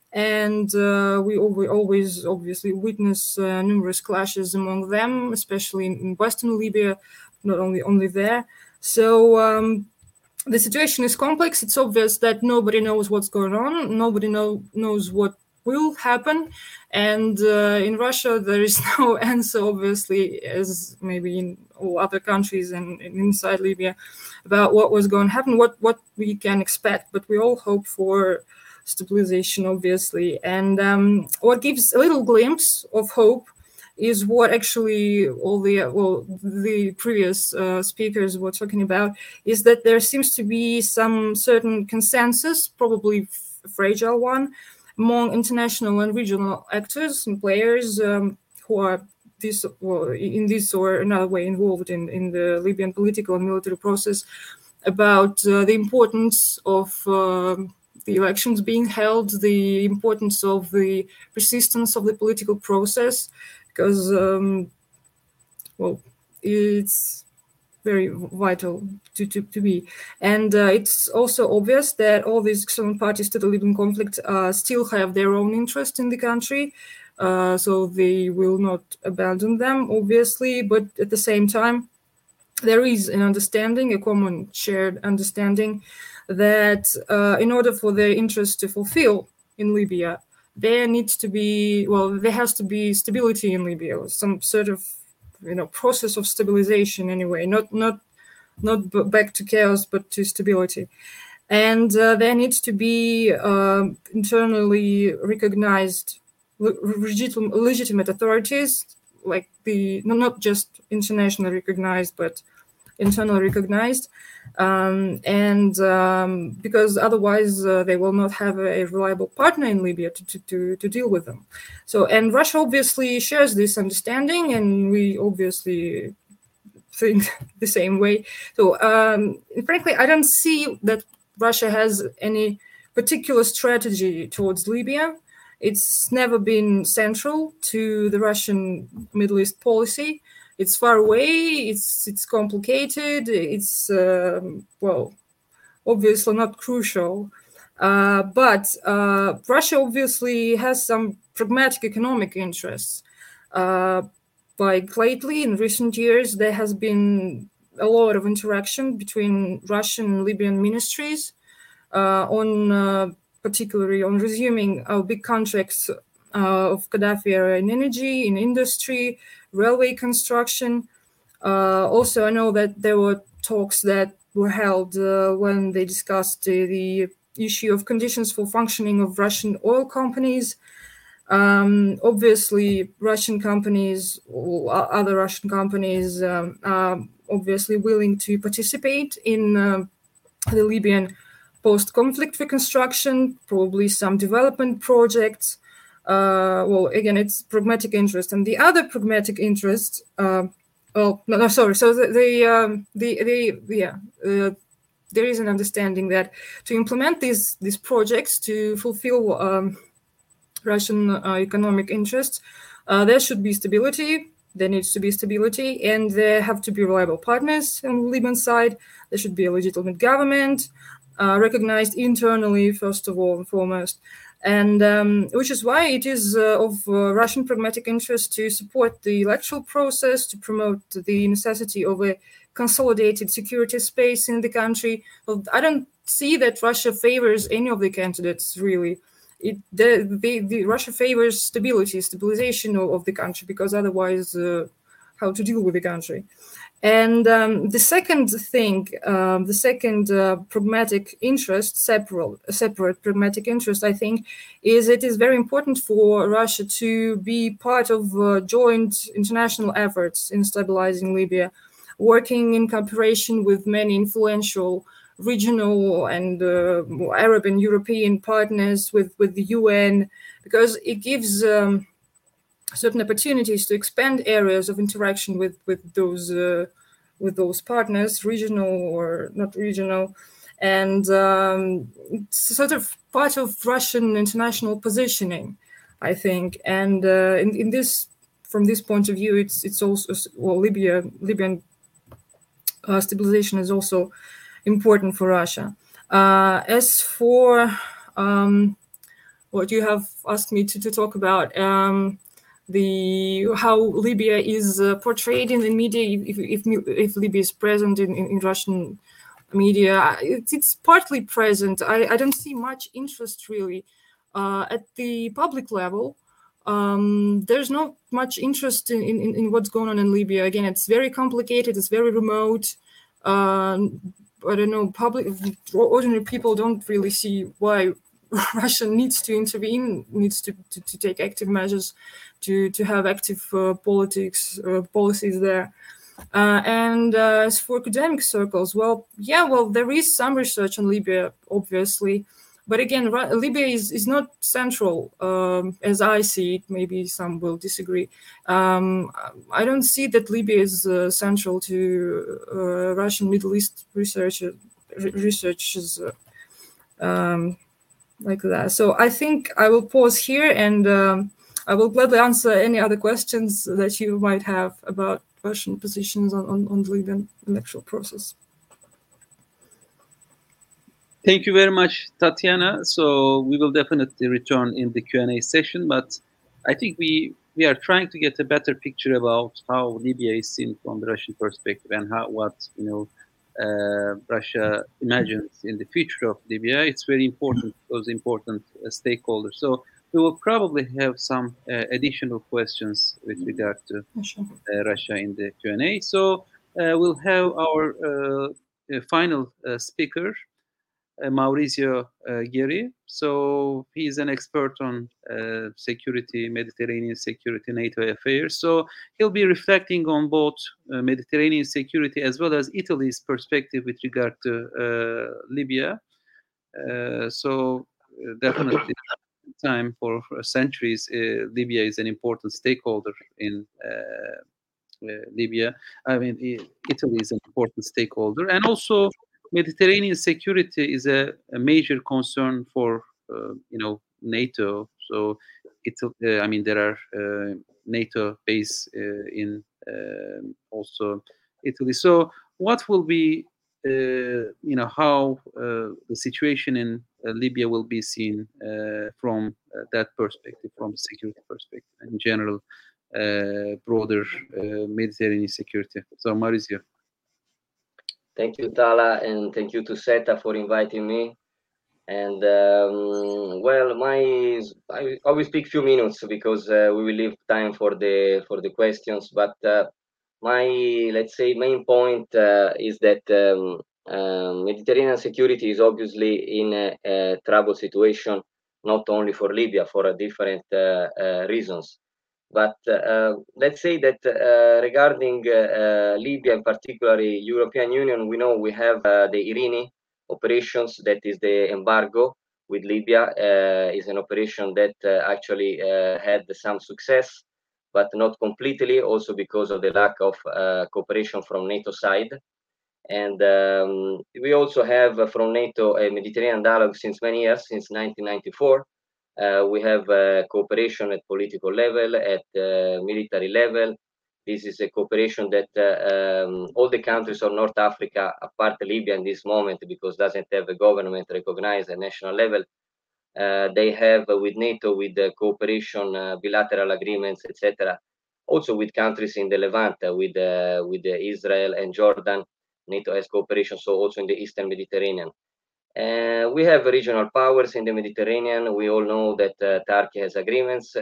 and uh, we, we always obviously witness uh, numerous clashes among them, especially in, in Western Libya, not only only there. So um, the situation is complex. It's obvious that nobody knows what's going on. Nobody know, knows what will happen. And uh, in Russia, there is no answer, obviously, as maybe in all other countries and, and inside Libya, about what was going to happen, what, what we can expect. But we all hope for stabilization, obviously. And um, what gives a little glimpse of hope is what actually all the well the previous uh, speakers were talking about, is that there seems to be some certain consensus, probably a fragile one, among international and regional actors and players um, who are this well, in this or another way involved in, in the Libyan political and military process, about uh, the importance of uh, the elections being held, the importance of the persistence of the political process, because, um, well, it's very vital to, to, to be. And uh, it's also obvious that all these external parties to the Libyan conflict uh, still have their own interest in the country, uh, so they will not abandon them, obviously, but at the same time, there is an understanding, a common shared understanding, that uh, in order for their interests to fulfill in Libya, there needs to be, well, there has to be stability in Libya, some sort of, you know, process of stabilization anyway, not not not b- back to chaos, but to stability. And uh, there needs to be uh, internally recognized le- legitimate, legitimate authorities, like the, not just internationally recognized, but internally recognized, um, and um, because otherwise uh, they will not have a reliable partner in Libya to, to, to, to deal with them. So, and Russia obviously shares this understanding, and we obviously think the same way. So, um, frankly, I don't see that Russia has any particular strategy towards Libya. It's never been central to the Russian Middle East policy. It's far away, it's it's complicated, it's, um, well, obviously not crucial. Uh, but uh, Russia obviously has some pragmatic economic interests. Uh, like lately, in recent years, there has been a lot of interaction between Russian and Libyan ministries uh, on uh, particularly on resuming our big contracts uh, of Gaddafi era in energy, in industry, railway construction. Uh, also, I know that there were talks that were held uh, when they discussed uh, the issue of conditions for functioning of Russian oil companies. Um, obviously, Russian companies or other Russian companies um, are obviously willing to participate in uh, the Libyan post-conflict reconstruction, probably some development projects. Uh, well, again, it's pragmatic interest, and the other pragmatic interest. Uh, oh no, no, sorry. So the the um, the, the yeah, uh, there is an understanding that to implement these these projects to fulfill um, Russian uh, economic interests, uh, there should be stability. There needs to be stability, and there have to be reliable partners on the Libyan side. There should be a legitimate government, uh, recognized internally, first of all and foremost. And um, which is why it is uh, of uh, Russian pragmatic interest to support the electoral process, to promote the necessity of a consolidated security space in the country. Well, I don't see that Russia favors any of the candidates, really. It, the, the, the Russia favors stability, stabilization of, of the country, because otherwise, uh, how to deal with the country. And um, the second thing, um, the second uh, pragmatic interest, separate, separate pragmatic interest, I think, is it is very important for Russia to be part of uh, joint international efforts in stabilizing Libya, working in cooperation with many influential regional and uh, Arab and European partners, with, with the U N, because it gives um, certain opportunities to expand areas of interaction with with those uh, with those partners, regional or not regional, and um, it's sort of part of Russian international positioning, I think. And uh, in, in this, from this point of view, it's it's also, well, Libya Libyan uh, stabilization is also important for Russia. Uh, as for um, what you have asked me to, to talk about. Um, The how Libya is uh, portrayed in the media, if if, if Libya is present in, in, in Russian media, it's, it's partly present. I, I don't see much interest really uh, at the public level. Um, there's not much interest in, in, in what's going on in Libya. Again, it's very complicated. It's very remote. Uh, I don't know. Public, ordinary people don't really see why Russia needs to intervene, needs to, to, to take active measures, to, to have active uh, politics, uh, policies there. Uh, and uh, as for academic circles, well, yeah, well, there is some research on Libya, obviously. But again, Libya is, is not central, um, as I see it. Maybe some will disagree. Um, I don't see that Libya is uh, central to uh, Russian Middle East research, researches uh, um, like that. So I think I will pause here, and um, I will gladly answer any other questions that you might have about Russian positions on, on, on the Libyan electoral process. Thank you very much, Tatiana. So we will definitely return in the Q and A session, but I think we we are trying to get a better picture about how Libya is seen from the Russian perspective, and how what you know uh, Russia imagines in the future of Libya. It's very important, those important uh, stakeholders. So we will probably have some uh, additional questions with regard to uh, Russia in the Q and A. So uh, we'll have our uh, uh, final uh, speaker, Uh, Maurizio uh, Gheri. So he's an expert on uh, security, Mediterranean security, NATO affairs. So he'll be reflecting on both uh, Mediterranean security as well as Italy's perspective with regard to uh, Libya. Uh, so uh, definitely time for, for centuries, uh, Libya is an important stakeholder in uh, uh, Libya. I mean, Italy is an important stakeholder, and also Mediterranean security is a, a major concern for uh, you know NATO. So it, uh, I mean, there are uh, NATO base uh, in uh, also Italy. So what will be uh, you know how uh, the situation in uh, Libya will be seen uh, from uh, that perspective, from the security perspective, in general, uh, broader uh, Mediterranean security. So Maurizio. Thank you, Tala, and thank you to SETA for inviting me. And um, well, my I, I will speak few minutes because uh, we will leave time for the for the questions. But uh, my let's say main point uh, is that um, um, Mediterranean security is obviously in a, a troubled situation, not only for Libya, for a different uh, uh, reasons. But uh, let's say that uh, regarding uh, Libya, in particularly European Union, we know we have uh, the Irini operations, that is the embargo with Libya, uh, is an operation that uh, actually uh, had some success, but not completely, also because of the lack of uh, cooperation from NATO side. And um, we also have uh, from NATO a Mediterranean dialogue since many years, since nineteen ninety-four. Uh, we have uh, cooperation at political level, at uh, military level. This is a cooperation that uh, um, all the countries of North Africa, apart Libya in this moment, because doesn't have a government recognized at national level, uh, they have uh, with NATO, with uh, cooperation, uh, bilateral agreements, et cetera. Also with countries in the Levant, uh, with uh, with uh, Israel and Jordan, NATO has cooperation. So also in the Eastern Mediterranean. Uh, we have regional powers in the Mediterranean. We all know that uh, Turkey has agreements,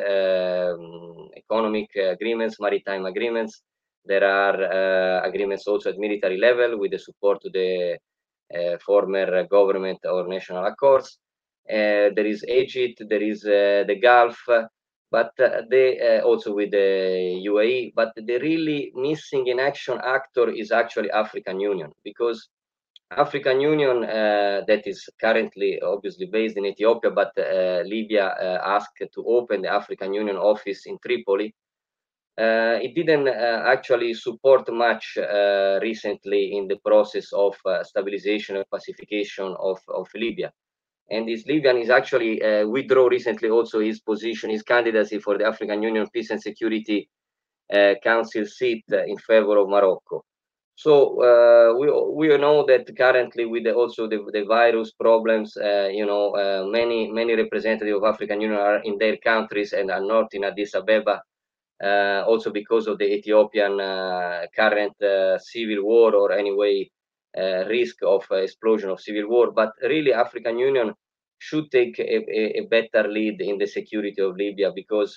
um, economic agreements, maritime agreements. There are uh, agreements also at military level with the support to the uh, former government or national accords. Uh, there is Egypt, there is uh, the Gulf, but uh, they uh, also with the U A E. But the really missing in action actor is actually African Union, because African Union, uh, that is currently obviously based in Ethiopia, but uh, Libya uh, asked to open the African Union office in Tripoli. Uh, it didn't uh, actually support much uh, recently in the process of uh, stabilization and pacification of, of Libya. And this Libyan is actually uh, withdraw recently also his position, his candidacy for the African Union Peace and Security uh, Council seat uh, in favor of Morocco. So uh, we we know that currently with the, also the, the virus problems, uh, you know, uh, many many representatives of African Union are in their countries and are not in Addis Ababa, uh, also because of the Ethiopian uh, current uh, civil war, or anyway uh, risk of uh, explosion of civil war. But really, African Union should take a, a, a better lead in the security of Libya, because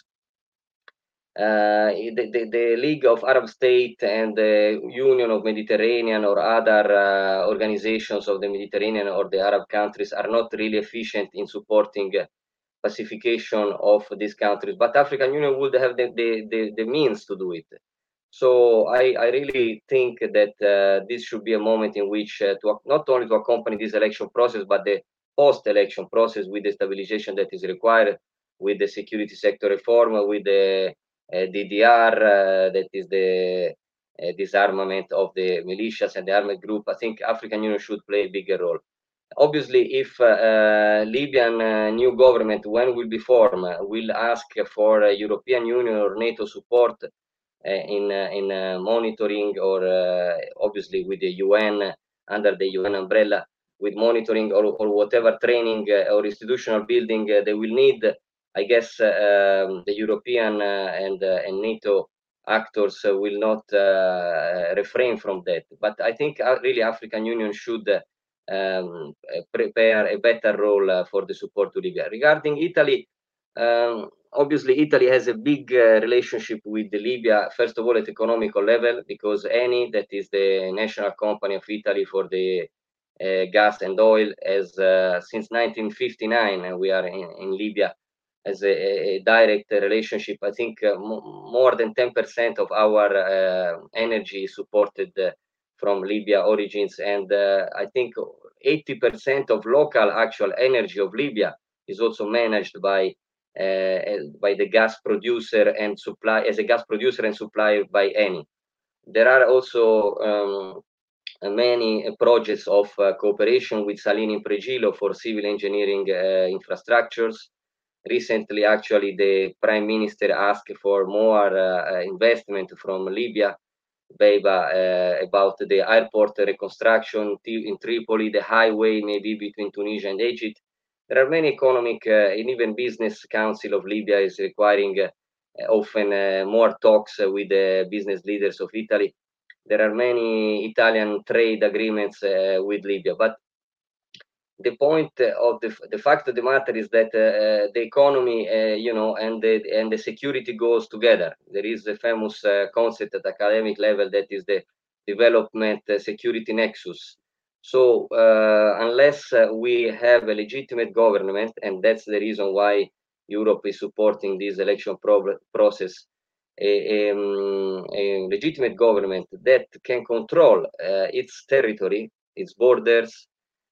Uh, the, the, the League of Arab States and the Union of Mediterranean or other uh, organizations of the Mediterranean or the Arab countries are not really efficient in supporting uh, pacification of these countries, but African Union would have the, the, the, the means to do it. So I, I really think that uh, this should be a moment in which uh, to not only to accompany this election process, but the post-election process with the stabilization that is required, with the security sector reform, with the uh, D D R, uh, that is the uh, disarmament of the militias and the armed group. I think African Union should play a bigger role. Obviously, if uh, uh, Libyan uh, new government, when will be formed, uh, will ask for uh, European Union or NATO support uh, in uh, in uh, monitoring, or uh, obviously with the U N, under the U N umbrella, with monitoring or, or whatever training uh, or institutional building uh, they will need. I guess uh, um, the European uh, and uh, and NATO actors uh, will not uh, refrain from that. But I think uh, really African Union should uh, um, prepare a better role uh, for the support to Libya. Regarding Italy, um, obviously Italy has a big uh, relationship with Libya, first of all at economical level, because Eni, that is the national company of Italy for the uh, gas and oil, as uh, since nineteen fifty-nine, and we are in, in Libya, as a, a direct relationship. I think uh, more than ten percent of our uh, energy is supported uh, from Libya origins, and uh, I think eighty percent of local actual energy of Libya is also managed by uh, by the gas producer and supply as a gas producer and supplier by Eni. There are also um, many projects of uh, cooperation with Salini Impregilo for civil engineering uh, infrastructures. Recently, actually, the Prime Minister asked for more uh, investment from Libya, Beiba, uh, about the airport reconstruction in Tripoli, the highway maybe between Tunisia and Egypt. There are many economic uh, and even business council of Libya is requiring uh, often uh, more talks uh, with the business leaders of Italy. There are many Italian trade agreements uh, with Libya, but the point of the, the fact of the matter is that uh, the economy, uh, you know, and the and the security goes together. There is a famous uh, concept at academic level that is the development uh, security nexus. So uh, unless uh, we have a legitimate government, and that's the reason why Europe is supporting this election pro process, a, um, a legitimate government that can control uh, its territory, its borders,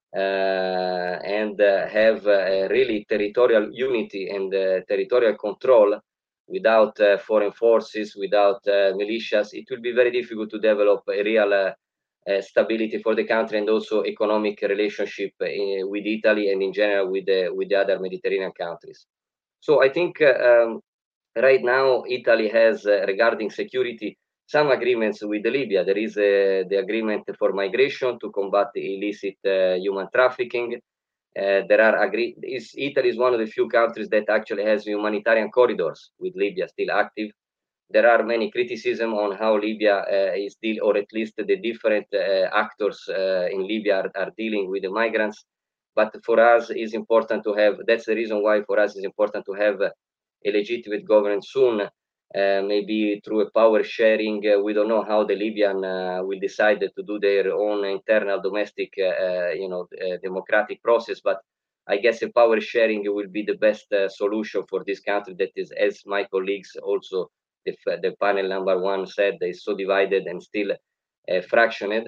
uh, and uh, have uh, really territorial unity and uh, territorial control without uh, foreign forces, without uh, militias, it will be very difficult to develop a real uh, uh, stability for the country and also economic relationship in, with Italy and in general with the, with the other Mediterranean countries. So I think uh, um, right now Italy has, uh, regarding security, some agreements with Libya. There is uh, the agreement for migration to combat illicit uh, human trafficking. Uh, there are agree. Is, Italy is one of the few countries that actually has humanitarian corridors with Libya still active. There are many criticism on how Libya uh, is deal, or at least the different uh, actors uh, in Libya are, are dealing with the migrants. But for us, it's important to have. That's the reason why for us it's important to have a legitimate government soon. Uh, maybe through a power sharing. Uh, we don't know how the Libyan uh, will decide to do their own internal domestic, uh, you know, uh, democratic process. But I guess a power sharing will be the best uh, solution for this country that is, as my colleagues also, the, the panel number one said, is so divided and still uh, fractioned.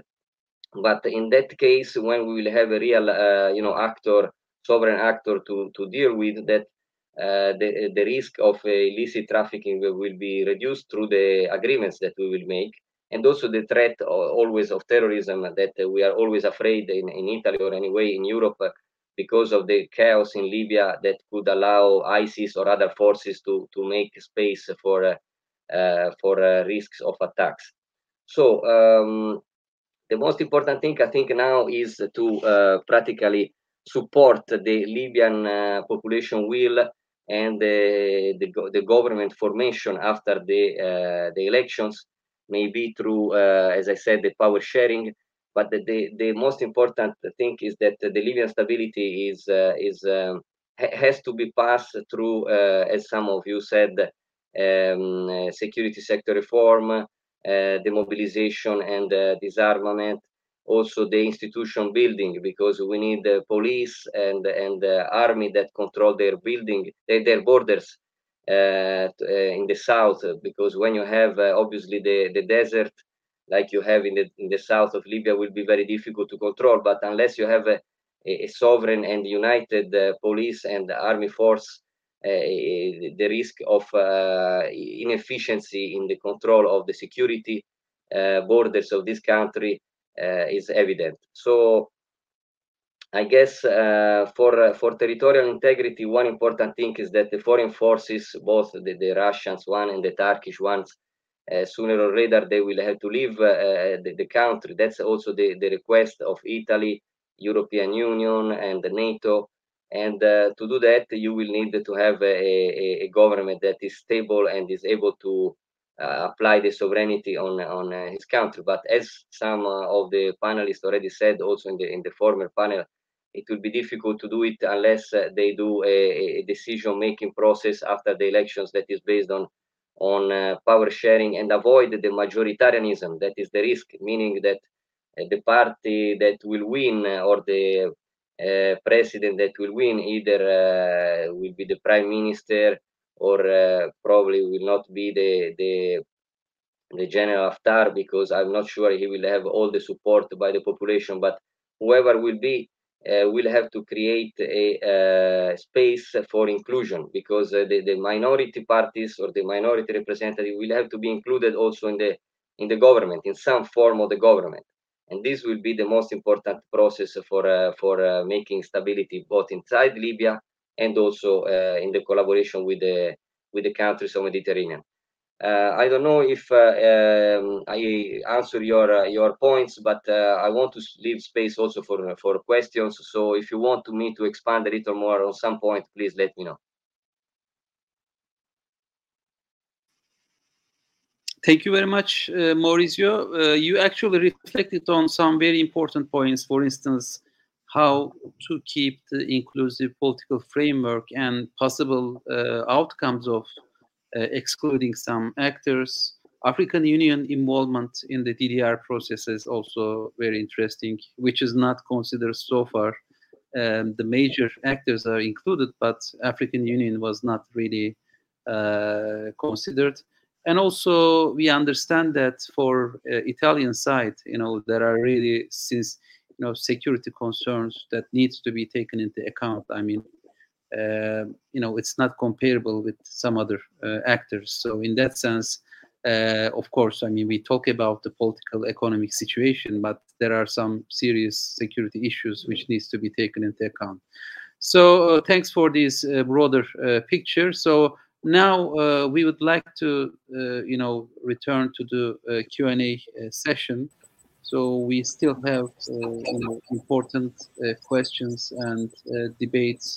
But in that case, when we will have a real, uh, you know, actor, sovereign actor to, to deal with that, uh, the, the risk of uh, illicit trafficking will, will be reduced through the agreements that we will make. And also the threat uh, always of terrorism that uh, we are always afraid in, in Italy or anyway in Europe uh, because of the chaos in Libya that could allow ISIS or other forces to, to make space for, uh, uh, for uh, risks of attacks. So um, the most important thing I think now is to uh, practically support the Libyan uh, population will and the, the, the government formation after the, uh, the elections, maybe through, uh, as I said, the power sharing. But the, the, the most important thing is that the Libyan stability is, uh, is um, ha has to be passed through, uh, as some of you said, um, uh, security sector reform, uh, demobilization and uh, disarmament, also the institution building, because we need the police and and the army that control their building, their, their borders uh, in the south, because when you have uh, obviously the, the desert like you have in the in the south of Libya will be very difficult to control. But unless you have a, a sovereign and united uh, police and army force, Uh, the risk of uh, inefficiency in the control of the security uh, borders of this country uh, is evident. So I guess uh, for for territorial integrity, one important thing is that the foreign forces, both the, the Russians one and the Turkish ones, uh, sooner or later they will have to leave uh, the, the country. That's also the, the request of Italy, European Union, and the NATO. And uh, to do that, you will need to have a, a, a government that is stable and is able to uh, apply the sovereignty on on uh, his country. But as some uh, of the panelists already said, also in the in the former panel, it will be difficult to do it unless uh, they do a, a decision-making process after the elections that is based on on uh, power sharing and avoid the majoritarianism. That is the risk, meaning that uh, the party that will win uh, or the uh, president that will win either uh, will be the prime minister or uh, probably will not be the the the General Haftar, because I'm not sure he will have all the support by the population, but whoever will be uh, will have to create a uh, space for inclusion, because uh, the, the minority parties or the minority representative will have to be included also in the in the government, in some form of the government. And this will be the most important process for uh, for uh, making stability both inside Libya and also uh, in the collaboration with the with the countries of Mediterranean. Uh, I don't know if uh, um, I answer your uh, your points, but uh, I want to leave space also for for questions. So if you want to me to expand a little more on some point, please let me know. Thank you very much, uh, Maurizio. Uh, you actually reflected on some very important points. For instance, how to keep the inclusive political framework and possible uh, outcomes of uh, excluding some actors. African Union involvement in the D D R process is also very interesting, which is not considered so far. Um, the major actors are included, but African Union was not really uh, considered. and also we understand that for uh, Italian side, you know, there are really since you know security concerns that needs to be taken into account. I mean, uh, you know, it's not comparable with some other uh, actors. So in that sense, uh, of course, I mean, we talk about the political economic situation, but there are some serious security issues which needs to be taken into account. So uh, thanks for this uh, broader uh, picture. So now uh, we would like to, uh, you know, return to the uh, Q and A uh, session. So we still have, uh, you know, important uh, questions and uh, debates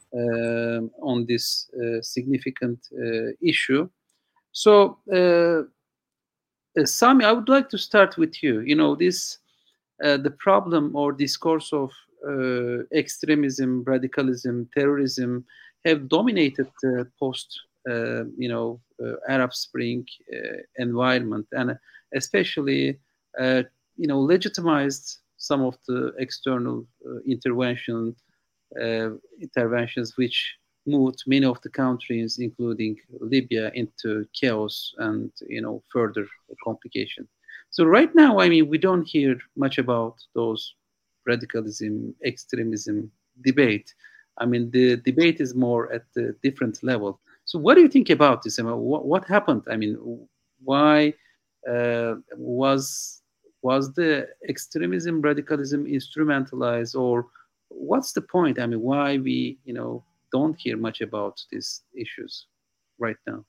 uh, on this uh, significant uh, issue. So, uh, uh, Sami, I would like to start with you. You know, this uh, the problem or discourse of uh, extremism, radicalism, terrorism have dominated the post, uh, you know, uh, Arab Spring uh, environment, and especially, uh, you know, legitimized some of the external uh, intervention uh, interventions which moved many of the countries, including Libya, into chaos and, you know, further complication. So right now, I mean, we don't hear much about those radicalism, extremism debate. I mean, the debate is more at the different level. So what do you think about this? I mean, what, what happened? I mean, why uh, was was the extremism, radicalism instrumentalized, or what's the point? I mean, why we, you know, don't hear much about these issues right now?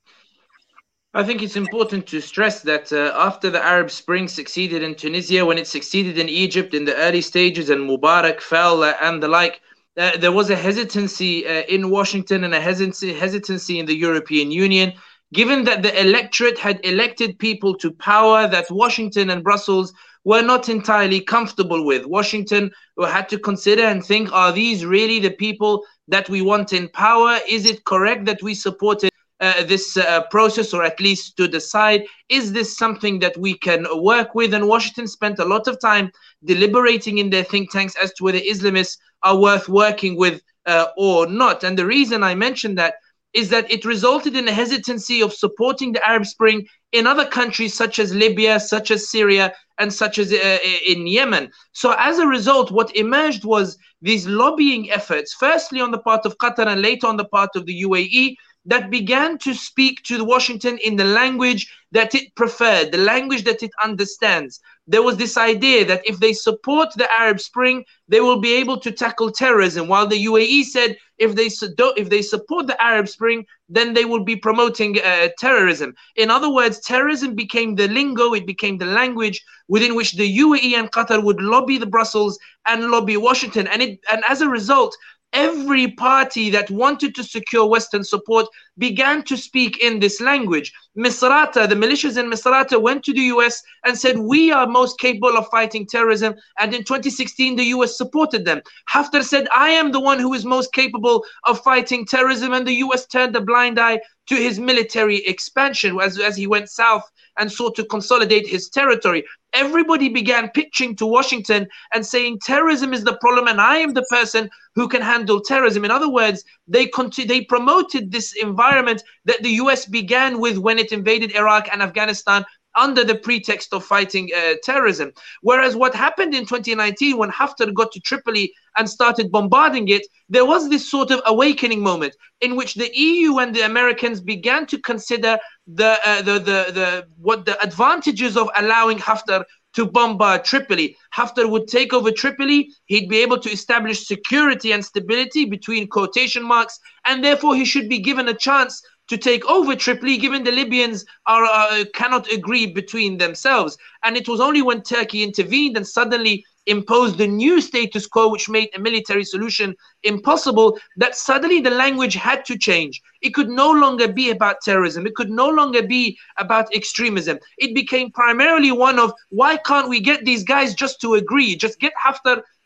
I think it's important to stress that uh, after the Arab Spring succeeded in Tunisia, when it succeeded in Egypt in the early stages and Mubarak fell uh, and the like, uh, there was a hesitancy uh, in Washington and a hesitancy, hesitancy in the European Union, given that the electorate had elected people to power that Washington and Brussels were not entirely comfortable with. Washington had to consider and think, are these really the people that we want in power? Is it correct that we supported uh, this uh, process, or at least stood aside? Is this something that we can work with? And Washington spent a lot of time deliberating in their think tanks as to whether Islamists are worth working with uh, or not. And the reason I mentioned that is that it resulted in a hesitancy of supporting the Arab Spring in other countries such as Libya, such as Syria, and such as uh, in Yemen. So as a result, what emerged was these lobbying efforts, firstly on the part of Qatar and later on the part of the U A E, that began to speak to Washington in the language that it preferred, the language that it understands. There was this idea that if they support the Arab Spring, they will be able to tackle terrorism, while the U A E said if they, if they support the Arab Spring, then they will be promoting uh, terrorism. In other words, terrorism became the lingo, it became the language within which the U A E and Qatar would lobby the Brussels and lobby Washington. And, it, and as a result, every party that wanted to secure Western support began to speak in this language. Misrata, the militias in Misrata went to the U S and said, we are most capable of fighting terrorism. And in twenty sixteen, the U S supported them. Haftar said, I am the one who is most capable of fighting terrorism. And the U S turned a blind eye to his military expansion as, as he went south and sought to consolidate his territory. Everybody began pitching to Washington and saying terrorism is the problem and I am the person who can handle terrorism. In other words, they they promoted this environment that the U S began with when it invaded Iraq and Afghanistan under the pretext of fighting uh, terrorism. Whereas what happened in twenty nineteen when Haftar got to Tripoli and started bombarding it, there was this sort of awakening moment in which the E U and the Americans began to consider the uh, the, the the what the advantages of allowing Haftar to bombard Tripoli. Haftar would take over Tripoli, he'd be able to establish security and stability between quotation marks, and therefore he should be given a chance to take over Tripoli, given the Libyans are uh, cannot agree between themselves. And it was only when Turkey intervened and suddenly imposed the new status quo, which made a military solution impossible, that suddenly the language had to change. It could no longer be about terrorism. It could no longer be about extremism. It became primarily one of, why can't we get these guys just to agree? Just get Haftar,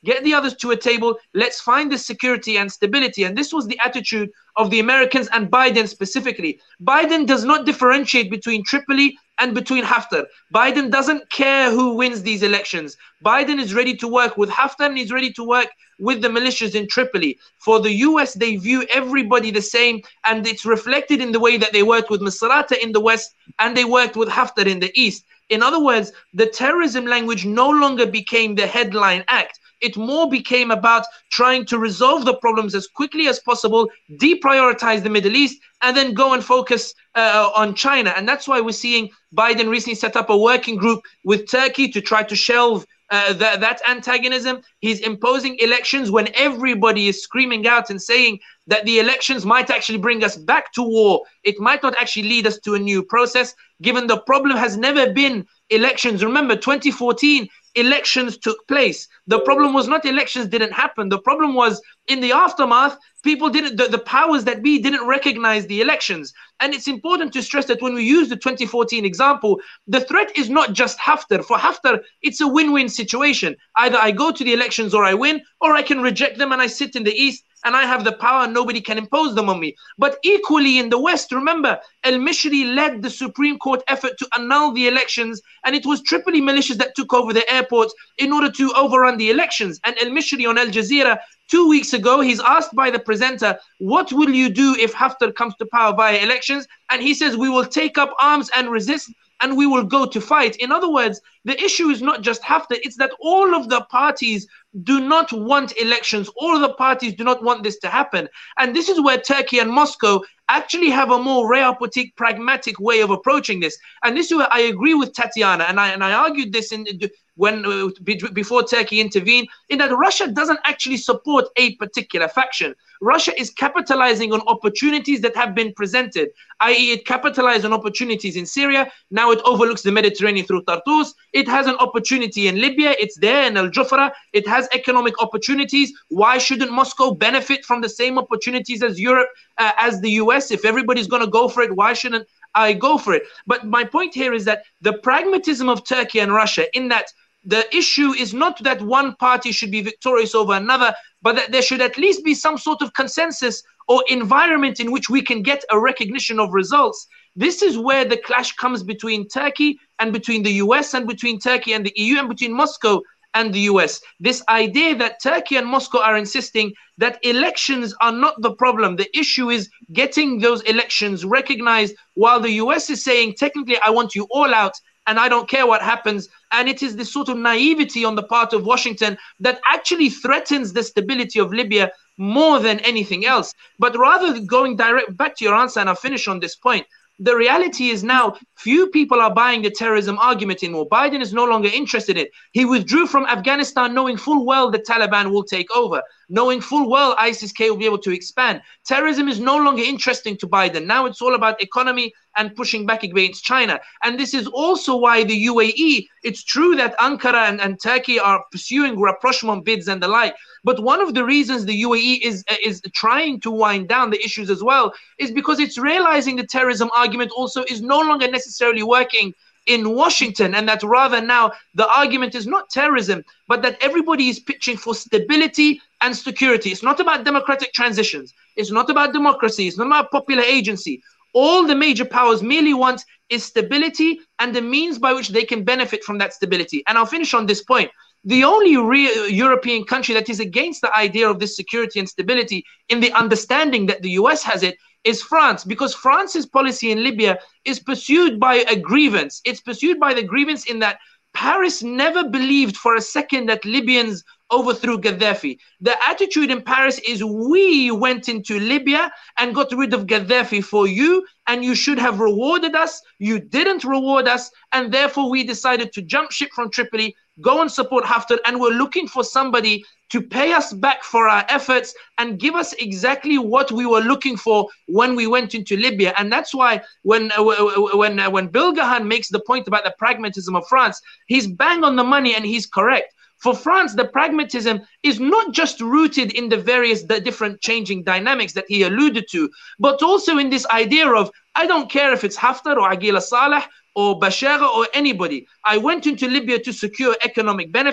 get the others to a table, let's find the security and stability. And this was the attitude of the Americans and Biden specifically. Biden does not differentiate between Tripoli and between Haftar. Biden doesn't care who wins these elections. Biden is ready to work with Haftar and he's ready to work with the militias in Tripoli. For the U S, they view everybody the same, and it's reflected in the way that they worked with Misrata in the West and they worked with Haftar in the East. In other words, the terrorism language no longer became the headline act. It more became about trying to resolve the problems as quickly as possible, deprioritize the Middle East, and then go and focus uh, on China. And that's why we're seeing Biden recently set up a working group with Turkey to try to shelve uh, that, that antagonism. He's imposing elections when everybody is screaming out and saying that the elections might actually bring us back to war. It might not actually lead us to a new process, given the problem has never been elections. Remember, twenty fourteen, elections took place. The problem was not elections didn't happen. The problem was in the aftermath, people didn't, the, the powers that be didn't recognize the elections. And it's important to stress that when we use the twenty fourteen example, the threat is not just Haftar. For Haftar, it's a win-win situation. Either I go to the elections or I win, or I can reject them and I sit in the East and I have the power and nobody can impose them on me. But equally in the West, remember, al-Mishri led the Supreme Court effort to annul the elections, and it was Tripoli militias that took over the airports in order to overrun the elections. And al-Mishri on Al Jazeera two weeks ago, he's asked by the presenter, what will you do if Haftar comes to power via elections? And he says, we will take up arms and resist, and we will go to fight. In other words, the issue is not just Haftar, it's that all of the parties do not want elections. All of the parties do not want this to happen. And this is where Turkey and Moscow actually have a more realpolitik, pragmatic way of approaching this. And this is where I agree with Tatiana, and I and I argued this in when uh, before Turkey intervened, in that Russia doesn't actually support a particular faction. Russia is capitalizing on opportunities that have been presented, that is it capitalized on opportunities in Syria. Now it overlooks the Mediterranean through Tartus. It has an opportunity in Libya. It's there in Al-Jufra. It has economic opportunities. Why shouldn't Moscow benefit from the same opportunities as Europe, uh, as the U S? If everybody's going to go for it, why shouldn't I go for it? But my point here is that the pragmatism of Turkey and Russia, in that the issue is not that one party should be victorious over another, but that there should at least be some sort of consensus or environment in which we can get a recognition of results. This is where the clash comes between Turkey and between the U S and between Turkey and the E U and between Moscow and the U S. This idea that Turkey and Moscow are insisting that elections are not the problem. The issue is getting those elections recognized, while the U S is saying, technically, I want you all out and I don't care what happens. And it is this sort of naivety on the part of Washington that actually threatens the stability of Libya more than anything else. But rather than going direct back to your answer, and I'll finish on this point, the reality is now few people are buying the terrorism argument anymore. Biden is no longer interested in it. He withdrew from Afghanistan knowing full well the Taliban will take over, knowing full well ISIS-K will be able to expand. Terrorism is no longer interesting to Biden. Now it's all about economy and pushing back against China. And this is also why the U A E, it's true that Ankara and, and Turkey are pursuing rapprochement bids and the like, but one of the reasons the U A E is, is trying to wind down the issues as well is because it's realizing the terrorism argument also is no longer necessarily working in Washington, and that rather now the argument is not terrorism, but that everybody is pitching for stability and security. It's not about democratic transitions. It's not about democracy. It's not about popular agency. All the major powers merely want is stability and the means by which they can benefit from that stability. And I'll finish on this point. The only real European country that is against the idea of this security and stability, in the understanding that the U S has it, is France, because France's policy in Libya is pursued by a grievance. It's pursued by the grievance in that Paris never believed for a second that Libyans overthrew Gaddafi. The attitude in Paris is, we went into Libya and got rid of Gaddafi for you, and you should have rewarded us. You didn't reward us, and therefore we decided to jump ship from Tripoli, go and support Haftar, and we're looking for somebody to pay us back for our efforts and give us exactly what we were looking for when we went into Libya. And that's why when uh, when uh, when Bilgahan makes the point about the pragmatism of France, he's bang on the money and he's correct. For France, the pragmatism is not just rooted in the various the different changing dynamics that he alluded to, but also in this idea of, I don't care if it's Haftar or Aguila Saleh or Bashar or anybody. I went into Libya to secure economic benefit.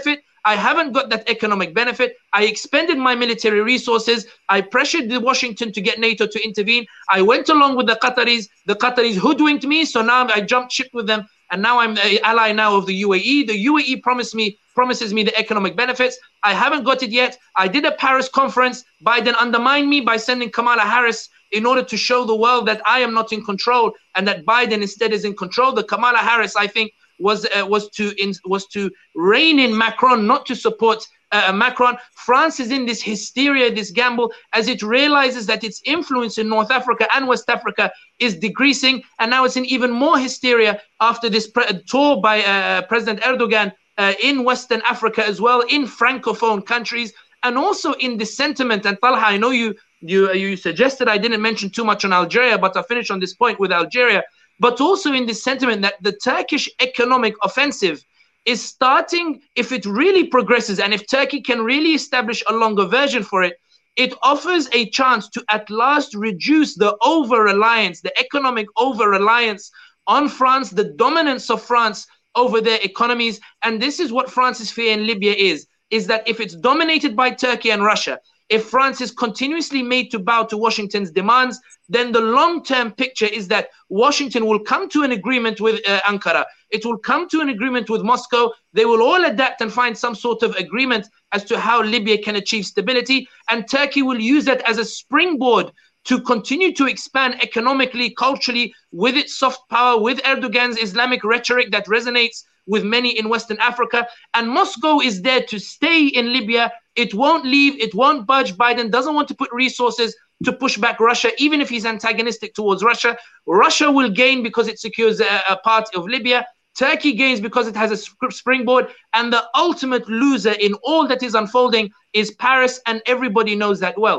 I haven't got that economic benefit. I expended my military resources. I pressured the Washington to get NATO to intervene. I went along with the Qataris. The Qataris hoodwinked me, so now I jumped ship with them, and now I'm an ally now of the U A E. The U A E promised me promises me the economic benefits. I haven't got it yet. I did a Paris conference. Biden undermined me by sending Kamala Harris in order to show the world that I am not in control and that Biden instead is in control. The Kamala Harris, I think, was uh, was to in, was to rein in Macron, not to support uh, Macron. France is in this hysteria, this gamble, as it realizes that its influence in North Africa and West Africa is decreasing, and now it's in even more hysteria after this tour by uh, President Erdogan uh, in Western Africa as well, in Francophone countries, and also in this sentiment. And Talha, I know you you you suggested I didn't mention too much on Algeria, but I'll finish on this point with Algeria. But also in this sentiment that the Turkish economic offensive is starting, if it really progresses and if Turkey can really establish a longer version for it, it offers a chance to at last reduce the over-reliance, the economic over-reliance on France, the dominance of France over their economies. And this is what France's fear in Libya is, is that if it's dominated by Turkey and Russia, if France is continuously made to bow to Washington's demands, then the long-term picture is that Washington will come to an agreement with uh, Ankara. It will come to an agreement with Moscow. They will all adapt and find some sort of agreement as to how Libya can achieve stability. And Turkey will use that as a springboard to continue to expand economically, culturally, with its soft power, with Erdogan's Islamic rhetoric that resonates with many in Western Africa. And Moscow is there to stay in Libya. It won't leave. It won't budge. Biden doesn't want to put resources to push back Russia, even if he's antagonistic towards Russia. Russia will gain because it secures a, a part of Libya. Turkey gains because it has a springboard. And the ultimate loser in all that is unfolding is Paris, and everybody knows that well.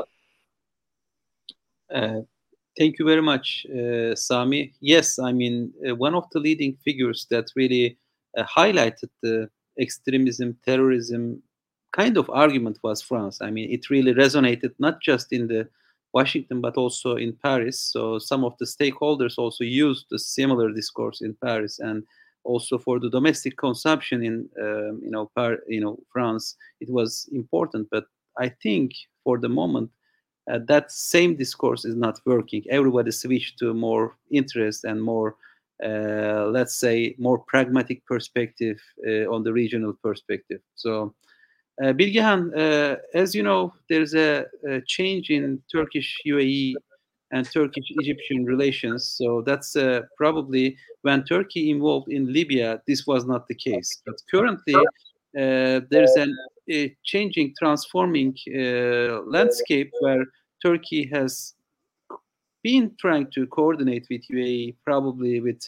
Uh, thank you very much, uh, Sami. Yes, I mean, uh, one of the leading figures that really uh, highlighted the extremism, terrorism kind of argument was France. I mean, it really resonated not just in the Washington, but also in Paris. So some of the stakeholders also used the similar discourse in Paris, and also for the domestic consumption in, um, you know, Par you know, France, it was important. But I think for the moment, uh, that same discourse is not working. Everybody switched to more interest and more, uh, let's say, more pragmatic perspective uh, on the regional perspective. So. Uh, Bilgehan, uh, as you know, there's a, a change in Turkish U A E and Turkish-Egyptian relations. So that's uh, probably when Turkey involved in Libya, this was not the case. But currently, uh, there's an, a changing, transforming uh, landscape where Turkey has been trying to coordinate with U A E, probably with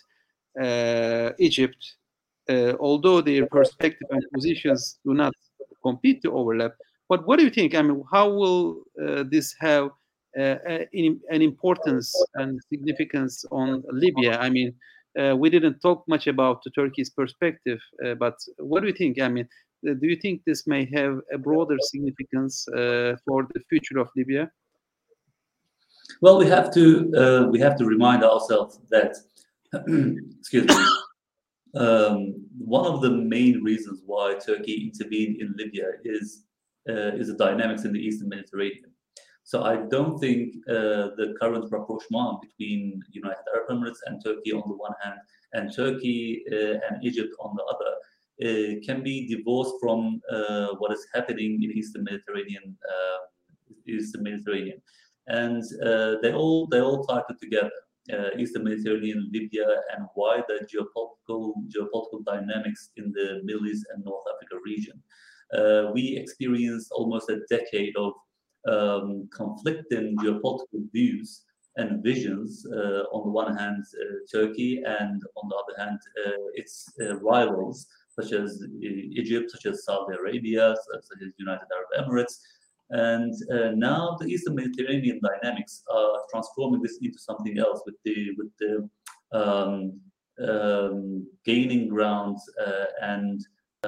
uh, Egypt, uh, although their perspective and positions do not compete to overlap. But what do you think? I mean, how will uh, this have uh, an, an importance and significance on Libya? I mean, uh, we didn't talk much about the Turkey's perspective, uh, but what do you think? I mean, uh, do you think this may have a broader significance uh, for the future of Libya? Well, we have to uh, we have to remind ourselves that excuse me. Um, one of the main reasons why Turkey intervened in Libya is uh, is the dynamics in the Eastern Mediterranean. So I don't think uh, the current rapprochement between United Arab Emirates and Turkey on the one hand, and Turkey uh, and Egypt on the other, uh, can be divorced from uh, what is happening in Eastern Mediterranean. Uh, Eastern Mediterranean, and uh, they all they all tied together. Uh, Eastern Mediterranean, Libya, and wider geopolitical geopolitical dynamics in the Middle East and North Africa region. Uh, we experienced almost a decade of um, conflicting geopolitical views and visions. Uh, on the one hand, uh, Turkey, and on the other hand, uh, its uh, rivals such as Egypt, such as Saudi Arabia, such as United Arab Emirates. And uh, now the Eastern Mediterranean dynamics are transforming this into something else, with the with the um, um, gaining grounds uh, and